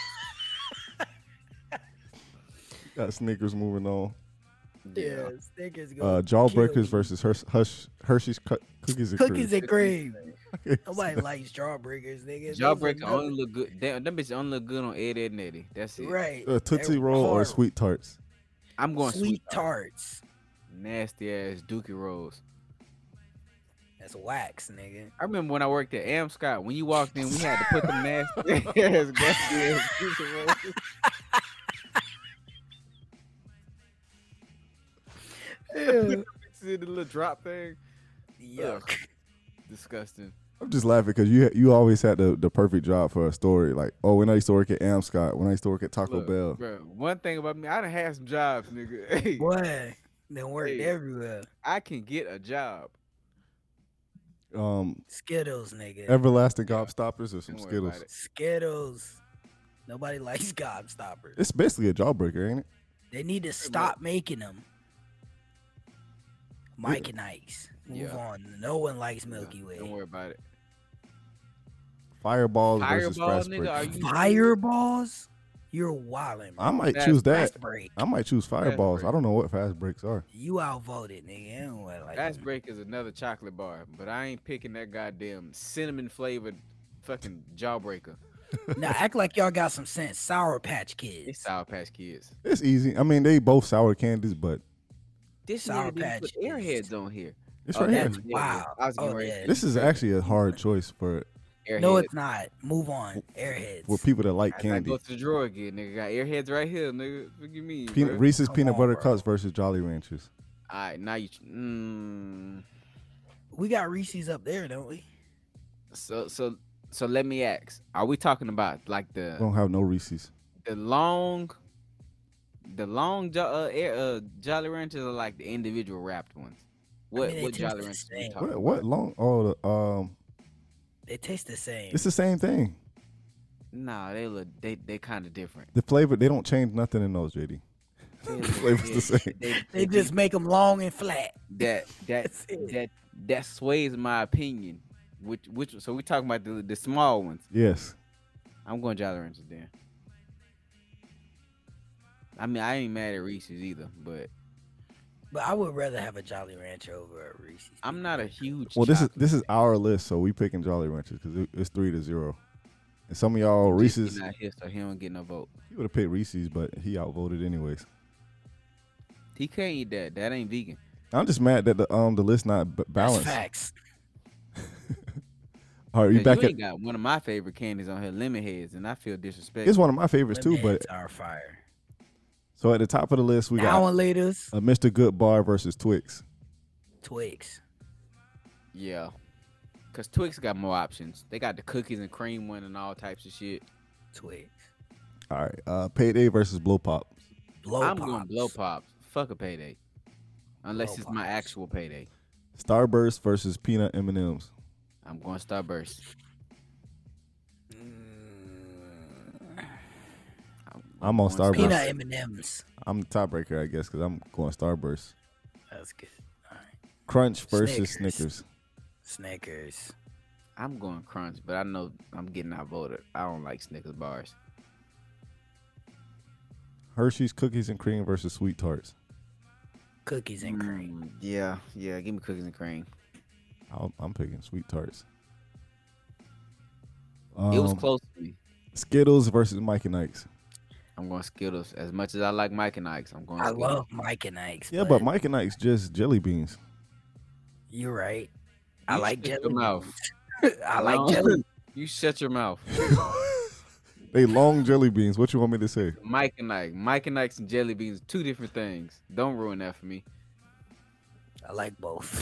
Got Snickers moving on. Yeah, Snickers go. Jawbreakers versus Hershey's Cookies and Cookies Cream. and cream. Nobody likes jawbreakers, nigga. Those are Jawbreaker nothing. only look good. Them bitches only look good on Ed, Ed and Eddie. That's it. Right. Tootsie They're Roll or hard. Sweet Tarts. I'm going Sweet Tart. tarts. Nasty ass Dookie Rolls. That's wax, nigga. I remember when I worked at Amscott, when you walked in, we had to put them nasty ass gusty ass Dookie Rolls. See the little drop thing? Yuck. Disgusting. I'm just laughing because you always had the perfect job for a story. Like, oh, when I used to work at Amscott, when I used to work at Taco Look, Bell. bro, one thing about me, I done had some jobs, nigga. Hey, Boy, they worked Hey. everywhere. I can get a job. Skittles, nigga. Everlasting Gobstoppers or some Don't worry about Skittles. it. Skittles. Nobody likes gobstoppers. It's basically a jawbreaker, ain't it? They need to stop making them. Mike and Ike's. Move on. No one likes Milky Way. Don't worry about it. Fireballs versus Fireball, fast nigga, break. are you Fireballs? You're wildin', bro. I might Fast choose that. Fast break. I might choose fireballs. break. I don't know what fast breaks are. You outvoted, nigga. I don't like Fast them. Break is another chocolate bar, but I ain't picking that goddamn cinnamon flavored fucking jawbreaker. Now act like y'all got some sense. Sour Patch It's Kids. Sour Patch Kids. It's easy. I mean, they both sour candies, but This Sour nigga didn't Patch put Kids. Airheads on here. it's Oh, right here. That's wow. I was getting Oh, ready yeah. to This is actually a hard choice for Airheads. No, it's not. Move on. Airheads. people that like I candy. go to the drawer again, nigga. Got Airheads right here, nigga. What you mean, Peanut, bro? Reese's Come peanut on, butter bro. cups versus Jolly Ranchers. All right, now you. We got Reese's up there, don't we? So let me ask: are we talking about like We don't have no Reese's. the long Jolly Ranchers are like the individual wrapped ones? What mean, they what taste Jolly the Ranchers are we same. talking What about? long? Oh, the They taste the same. it's the same thing. Nah, they kind of different. The flavor, they don't change nothing in those, JD. Flavor's the same. They just make them long and flat. that That's it. that sways my opinion. Which so we talking about the small ones. Yes. I'm going Jolly Ranchers then. I mean, I ain't mad at Reese's either, but But I would rather have a Jolly Rancher over a Reese's. I'm not a huge. Well, this chocolate is our list, so we picking Jolly Ranchers because it's 3-0. And some of y'all fan. Reese's, He not here, so he don't get no vote. he would have picked Reese's, but he outvoted anyways. He can't eat that. That ain't vegan. I'm just mad that the list not That's balanced. facts. All right, you 'Cause back you at? ain't got one of my favorite candies on here, lemon heads, and I feel disrespected. It's one of my favorites too, but Lemonheads are fire. so at the top of the list we Now got and laters, a Mr. Good Bar versus Twix. Twix. Yeah, cause Twix got more options. They got the cookies and cream one and all types of shit. Twix. All right, Payday versus Blow Pop. Blow I'm Pops. going blow pops. Fuck a payday, unless Blow it's my Pops. actual payday. Starburst versus Peanut M&Ms. I'm going Starburst. I'm on Starburst. Peanut M&Ms. I'm the tiebreaker, I guess, because I'm going Starburst. That's good. All right. Crunch versus Snickers. Snickers. Snickers. I'm going Crunch, but I know I'm getting outvoted. I don't like Snickers bars. Hershey's Cookies and Cream versus Sweet Tarts. Cookies and cream. Yeah. Give me cookies and cream. I'm picking Sweet Tarts. It was close to me. Skittles versus Mike and Ike's. I'm going Skittles. As much as I like Mike and Ike's, I'm going I Skittles. love Mike and Ike's. Yeah, but Mike and Ike's just jelly beans. You're right. I You like shut jelly. your mouth. beans. I like No. jelly. You shut your mouth. They long jelly beans. What you want me to say? Mike and Ike's and jelly beans, two different things. Don't ruin that for me. I like both.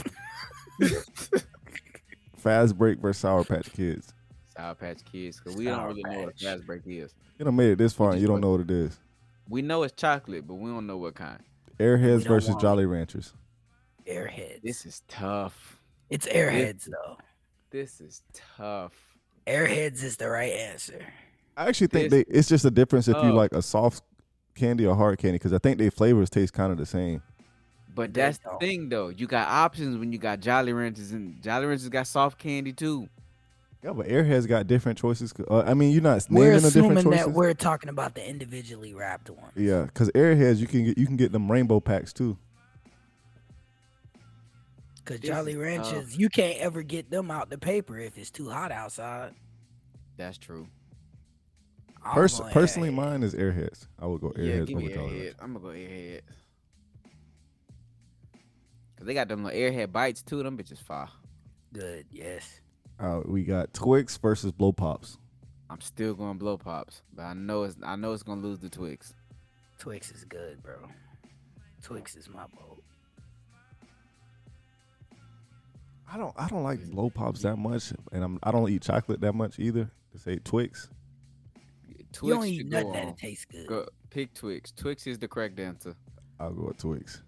Fast Break versus Sour Patch Kids. Sour Patch Kids, because we don't Sour really know what Patch. Fast Break is. You done made it this far and just you don't put- know what it is. We know it's chocolate, but we don't know what kind. Airheads don't versus want Jolly Ranchers. Airheads. This is tough. It's Airheads though. This is tough. Airheads is the right answer. I actually think This it's just a difference if you tough. like a soft candy or hard candy because I think their flavors taste kind of the same. But They that's the don't. thing, though. You got options when you got Jolly Ranchers, and Jolly Ranchers got soft candy too. Yeah, but Airheads got different choices. I mean, you're not We're naming the different assuming choices. that we're talking about the individually wrapped ones. Yeah, because Airheads you can get them rainbow packs too. Because This Jolly is Ranchers, you can't ever get them out the paper if it's too hot outside. That's true. I'm going Personally, Airheads. mine is Airheads. I would go Yeah, Airheads give me over Jolly Airhead. Ranchers. I'm gonna go Airhead. Cause they got them little Airhead bites too. Them bitches fire. Good, yes. We got Twix versus Blow Pops. I'm still going Blow Pops, but I know it's gonna lose the Twix. Twix is good, bro. Twix is my vote. I don't like Blow Pops that much, and I don't eat chocolate that much either. To say Twix. Twix You don't eat should nothing go that on. tastes good. Go, pick Twix. Twix is the correct answer. I'll go with Twix.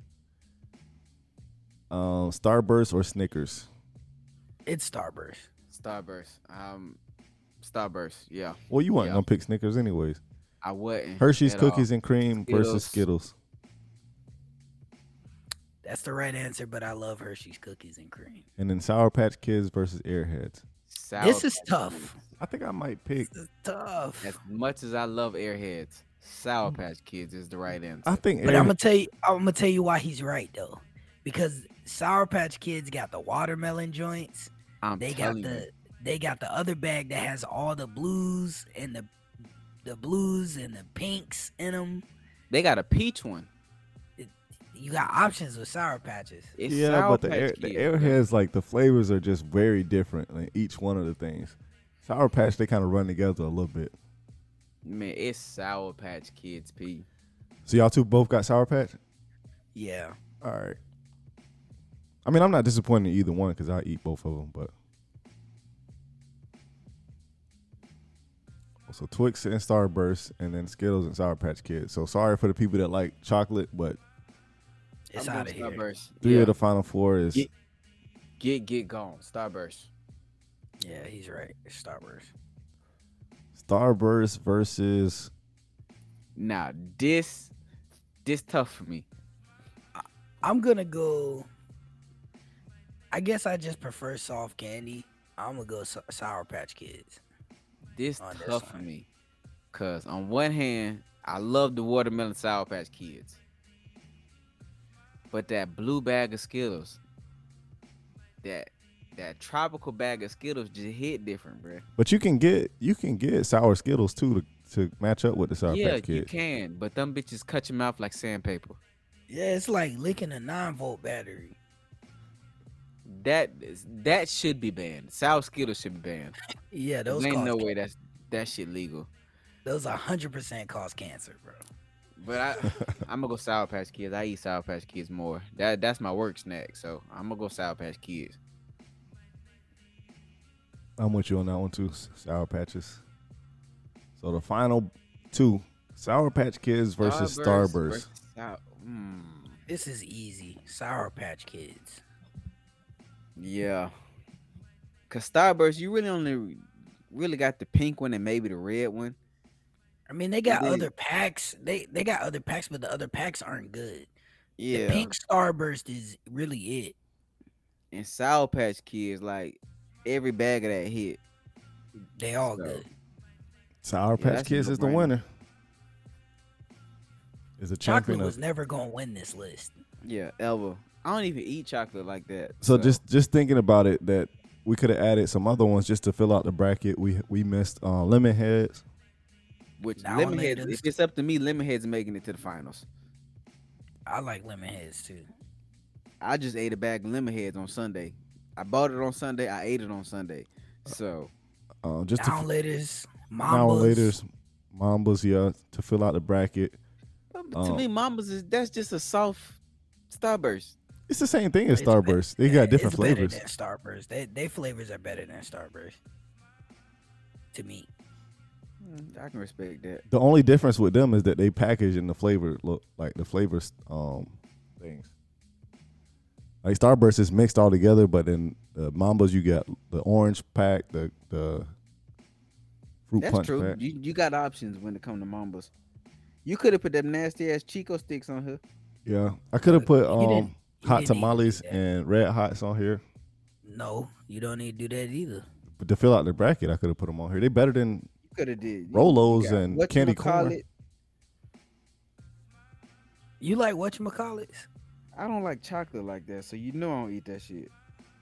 Starburst or Snickers. It's Starburst. Starburst. Starburst. Yeah, Well, you weren't Yeah. gonna pick Snickers anyways. I wasn't. Hershey's at all. Cookies and Cream versus Skittles. That's the right answer, but I love Hershey's cookies and cream. And then Sour Patch Kids versus Airheads. Sour This is Patch tough. Kids. I think I might pick. This is tough. As much as I love Airheads, Sour Patch Kids is the right answer. I think But I'm gonna tell you why he's right though, because Sour Patch Kids got the watermelon joints. They got the other bag that has all the blues and the blues and the pinks in them. They got a peach one. You got options with Sour Patches. It's yeah, Sour but the Patch Kids, bro. Airheads, like the flavors are just very different in each one of the things. Sour Patch, they kind of run together a little bit. Man, it's Sour Patch Kids, P. So y'all two both got Sour Patch? Yeah. All right. I mean, I'm not disappointed in either one because I eat both of them, but. So Twix and Starburst, and then Skittles and Sour Patch Kids. So sorry for the people that like chocolate, but It's I'm out going of here. Starburst. three Yeah. of the final four is Get gone. Starburst. Yeah, he's right. It's Starburst. Starburst versus. Now, this tough for me. I'm gonna go. I guess I just prefer soft candy. I'm gonna go Sour Patch Kids. This On this tough for one. me. Cause on one hand, I love the watermelon Sour Patch Kids. But that blue bag of Skittles, that tropical bag of Skittles just hit different, bro. But you can get sour Skittles too to match up with the Sour Yeah, Patch Kids. you can, but them bitches cut your mouth like sandpaper. Yeah, it's like licking a 9-volt battery. That should be banned. Sour Skittles should be banned. Yeah, There those ain't cause no way that shit legal. those 100% cause cancer, bro. But I'm gonna go Sour Patch Kids. I eat Sour Patch Kids more. That's my work snack, so I'm gonna go Sour Patch Kids. I'm with you on that one too. Sour Patches. So the final two: Sour Patch Kids versus Starburst. versus Sour- mm, This is easy. Sour Patch Kids. yeah, cause Starburst, you really only really got the pink one and maybe the red one. I mean, they got They- other packs. They got other packs, but the other packs aren't good. Yeah, The pink Starburst is really it. and Sour Patch Kids, like every bag of that hit. They all So, good. Sour Yeah, Patch that's a Kids is the no-brainer. winner. Is a champion Chocolate of. was never gonna win this list. Yeah, ever. I don't even eat chocolate like that. So just thinking about it, that we could have added some other ones just to fill out the bracket. We missed lemon heads. which Now Lemonheads, laters. if it's up to me, Lemonheads making it to the finals. I like lemon heads too. I just ate a bag of Lemonheads on Sunday. I bought it on Sunday. I ate it on Sunday. So Just to Down laters, now Mambas. later's Mambas, yeah, to fill out the bracket. to me, Mama's that's just a soft Starburst. It's the same thing as It's be- Starburst. They got different it's better flavors. than Starburst. They flavors are better than Starburst. To me. I can respect that. The only difference with them is that they package in the flavor look like the flavors things. Like Starburst is mixed all together, but then the Mambas you got the orange pack, the fruit That's punch true. pack. You got options when it comes to Mambas. You could have put them nasty ass Chico sticks on here. Yeah, I could have put You didn't hot need to do tamales that. and red hots on here, No, you don't need to do that either. but to fill out the bracket, I could have put them on here. They better than You could have did Rolos you got and candy corn. whatchamacallit. You like whatchamacallits? I don't like chocolate like that, so you know I don't eat that shit.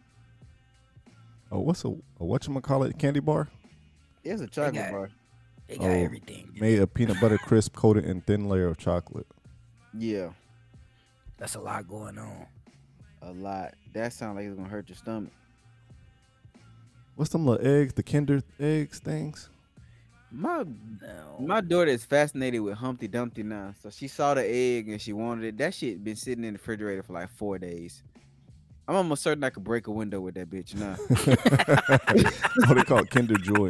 Oh, what's a whatchamacallit candy bar? It's a chocolate got- bar. They got Oh, everything. Made of peanut butter crisp coated in thin layer of chocolate. Yeah, That's a lot going on. a lot. That sounds like it's gonna hurt your stomach. What's them little eggs? The Kinder eggs things? My No. daughter is fascinated with Humpty Dumpty now, so she saw the egg and she wanted it. That shit been sitting in the refrigerator for like 4 days. I'm almost certain I could break a window with that bitch now. Oh, they call it Kinder Joy.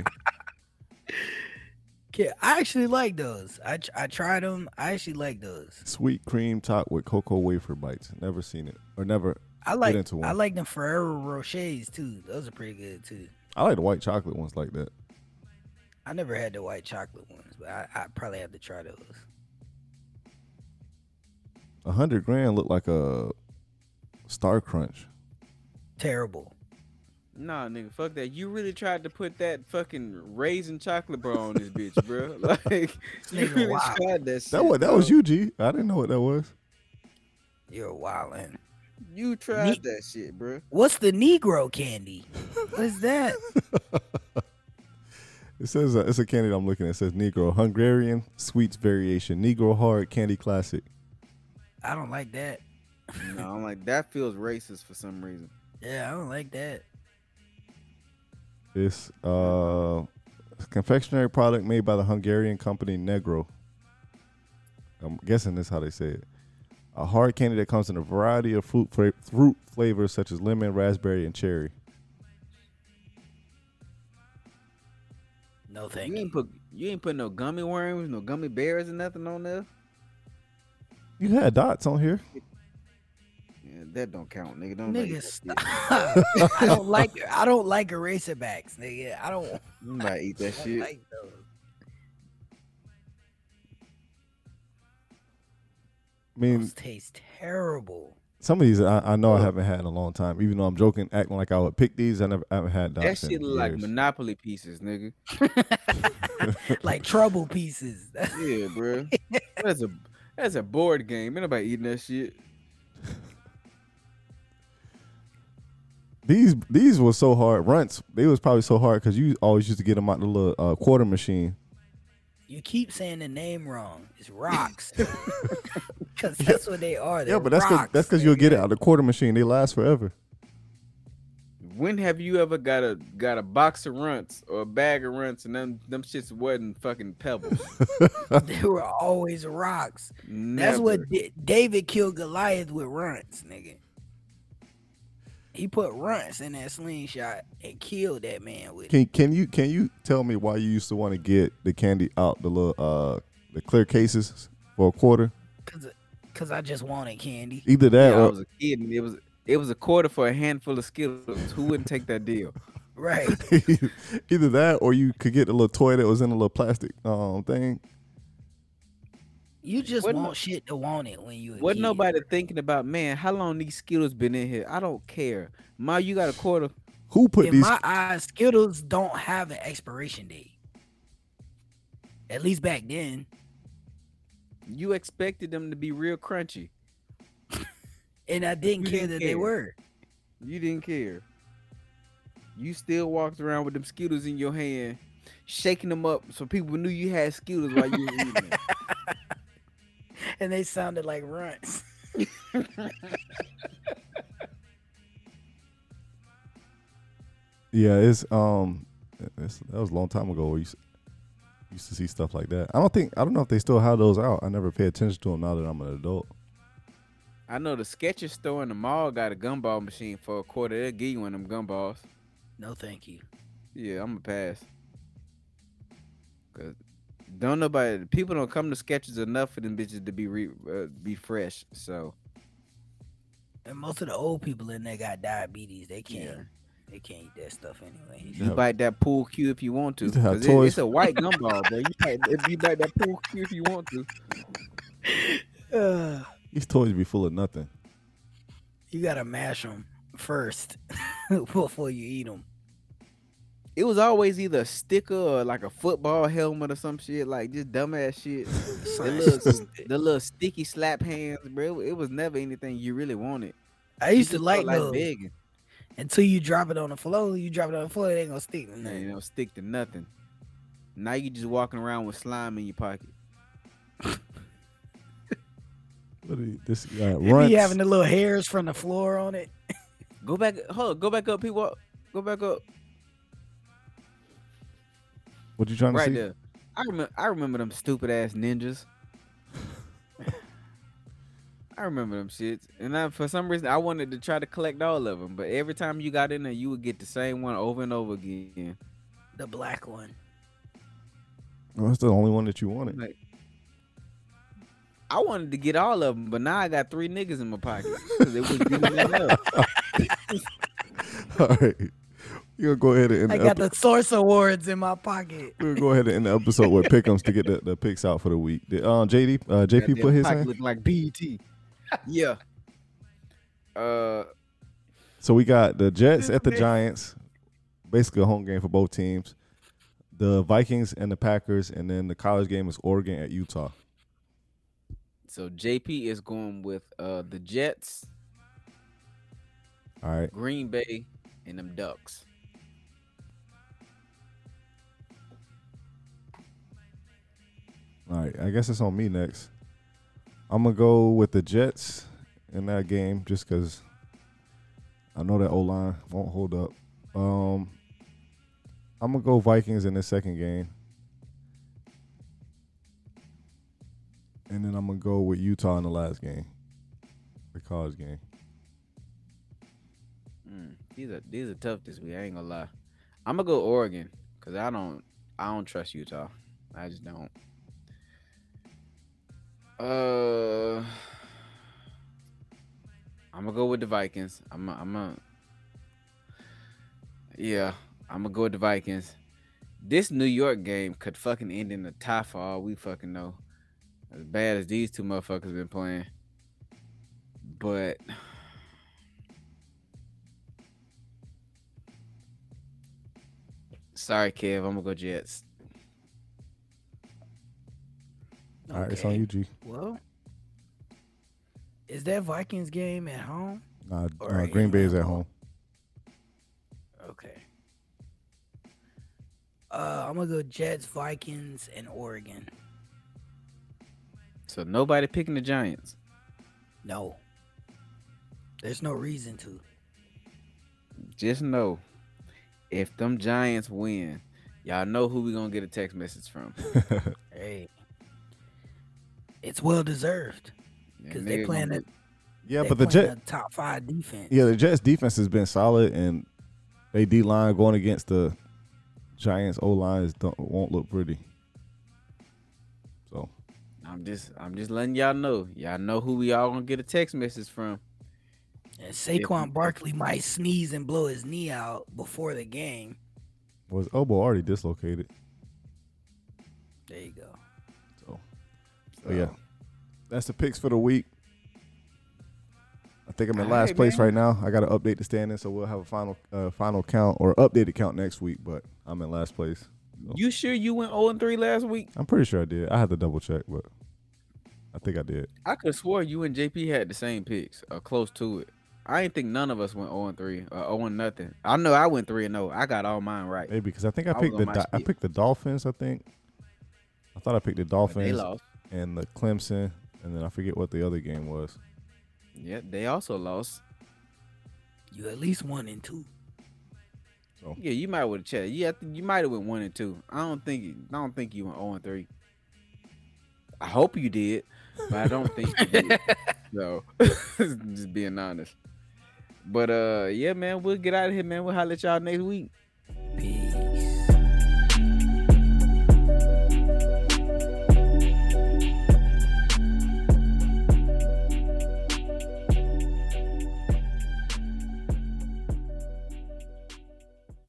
Yeah, I actually like those. I tried them. I actually like those. Sweet cream top with cocoa wafer bites. Never seen it or never. I like into one. I like them Ferrero Rochers too. Those are pretty good too. I like the white chocolate ones like that. I never had the white chocolate ones, but I probably have to try those. 100 grand look like a Star Crunch. Terrible. Nah, nigga, fuck that. You really tried to put that fucking raisin chocolate bar on this bitch, bro. Like, you Nigga, really wow. tried that shit. That was you, G. I didn't know what that was. You're wildin'. You tried that shit, bro. What's the Negro candy? What's that? It says it's a candy that I'm looking at. It says Negro Hungarian sweets variation Negro hard candy classic. I don't like that. No, I'm like, that feels racist for some reason. Yeah, I don't like that. It's a confectionery product made by the Hungarian company Negro. I'm guessing that's how they say it. A hard candy that comes in a variety of fruit flavors such as lemon, raspberry, and cherry. No thank You you. ain't put no gummy worms, no gummy bears, and nothing on there. You had dots on here. Yeah, that don't count, nigga. Don't Nigga, like stop. I don't like eraser backs, nigga. I don't Nobody eat that shit. like those. I mean, Those taste terrible. some of these I know I haven't had in a long time. Even though I'm joking, acting like I would pick these, I haven't had That dots shit in look like years. Monopoly pieces, nigga. Like trouble pieces. Yeah, bro. That's a board game. Ain't nobody eating that shit. These were so hard. Runts, they was probably so hard because you always used to get them out the little quarter machine. You keep saying the name wrong. It's rocks. Because that's what they are. They're Yeah, but that's rocks, because you'll get it nigga. out of the quarter machine. They last forever. When have you ever got a box of runts or a bag of runts and them shits wasn't fucking pebbles? They were always rocks. That's Never. what David killed Goliath with runts, nigga. He put runts in that slingshot and killed that man with it. Can you tell me why you used to want to get the candy out the little the clear cases for a quarter? Cause I just wanted candy. Either that Yeah, I or was a kid and it was a quarter for a handful of Skittles. Who wouldn't take that deal? Right. either that or you could get the little toy that was in a little plastic thing. You just Wasn't want shit to want it when you a Wasn't kid. nobody thinking about, man, how long these Skittles been in here? I don't care. Ma, you got a quarter. Who put In these? my eyes, Skittles don't have an expiration date. At least back then. You expected them to be real crunchy. And I didn't You care didn't that they care. were. You didn't care. You still walked around with them Skittles in your hand, shaking them up so people knew you had Skittles while you were eating them. And they sounded like runts. Yeah, that was a long time ago. We used to see stuff like that. I don't know if they still have those out. I never pay attention to them now that I'm an adult. I know the Skechers store in the mall got a gumball machine for a quarter. They'll give you one of them gumballs. No, thank you. Yeah, I'm a pass. Cause people don't come to Skechers enough for them bitches to be fresh. So And most of the old people in there got diabetes. They can't. Yeah. They can't eat that stuff anyway. you bite that pool cue if you want to. Used to have 'Cause toys. it's a white gumball, bro. If you bite that pool cue if you want to. These toys be full of nothing. You gotta mash them first before you eat them. It was always either a sticker or like a football helmet or some shit, like just dumbass shit. the little sticky slap hands, bro. It was never anything you really wanted. I used You to just like felt those begging. until you drop it on the floor. You drop it on the floor, it ain't gonna stick to Man, nothing. you don't stick to nothing. Now you just walking around with slime in your pocket. This guy You runs. be having the little hairs from the floor on it. Go back up, people. Go back up. What you trying to Right see? there. I remember them stupid ass ninjas. I remember them shits. And for some reason I wanted to try to collect all of them, but every time you got in there, you would get the same one over and over again. The black one. Oh, that's the only one that you wanted. Like, I wanted to get all of them, but now I got 3 niggas in my pocket because it was beating them up. All right. You're gonna go ahead and I got the Source Awards in my pocket. we're gonna go ahead and end the episode with pick'ems to get the picks out for the week. Did JP put his Pocket in? looking like BET. Yeah. So we got the Jets at the Okay. Giants, basically a home game for both teams. The Vikings and the Packers, and then the college game is Oregon at Utah. So JP is going with the Jets, All right. Green Bay, and them Ducks. All right. I guess it's on me next. I'm going to go with the Jets in that game just because I know that O-line won't hold up. I'm going to go Vikings in the second game. And then I'm going to go with Utah in the last game, the college game. These are tough this week. I ain't gonna lie. I'm gonna go Oregon because I don't trust Utah. I just don't. I'm gonna go with the Vikings. I'm gonna go with the Vikings. This New York game could fucking end in a tie for all we fucking know. As bad as these two motherfuckers been playing. But sorry, Kev. I'm gonna go Jets. All right, it's on you, G. Well, is that Vikings game at home? Nah, Or Green Bay is at home? home. Okay. I'm gonna go Jets, Vikings, and Oregon. So nobody picking the Giants. No. There's no reason to. Just know, if them Giants win, y'all know who we gonna get a text message from. Hey. It's well deserved. Because they playing a Yeah, they but the playing Jet, a top 5 defense. yeah, the Jets defense has been solid, and they D line going against the Giants O lines won't look pretty. So I'm just letting y'all know. Y'all know who we all gonna get a text message from. And Saquon Barkley might sneeze and blow his knee out before the game. was elbow already dislocated. There you go. But yeah, that's the picks for the week. I think I'm in All last right, place man. right now. I got to update the standings, so we'll have a final count or updated count next week. But I'm in last place. You sure you went 0-3 last week? I'm pretty sure I did. I had to double check, but I think I did. I could have swore you and JP had the same picks or close to it. I ain't think none of us went 0-3 or 0-0. I know I went 3-0. I got all mine right. Maybe because I think I I was picked on my I shit. picked the Dolphins. I think I thought I picked the But they Dolphins lost. and the Clemson, and then I forget what the other game was. Yeah, they also lost. You at least 1 and 2. Yeah, you might would have checked. Yeah, you might have went 1-2. I don't think you went 0-3. I hope you did, but I don't think you did. So just being honest. But yeah, man, we'll get out of here, man. We'll holler at y'all next week.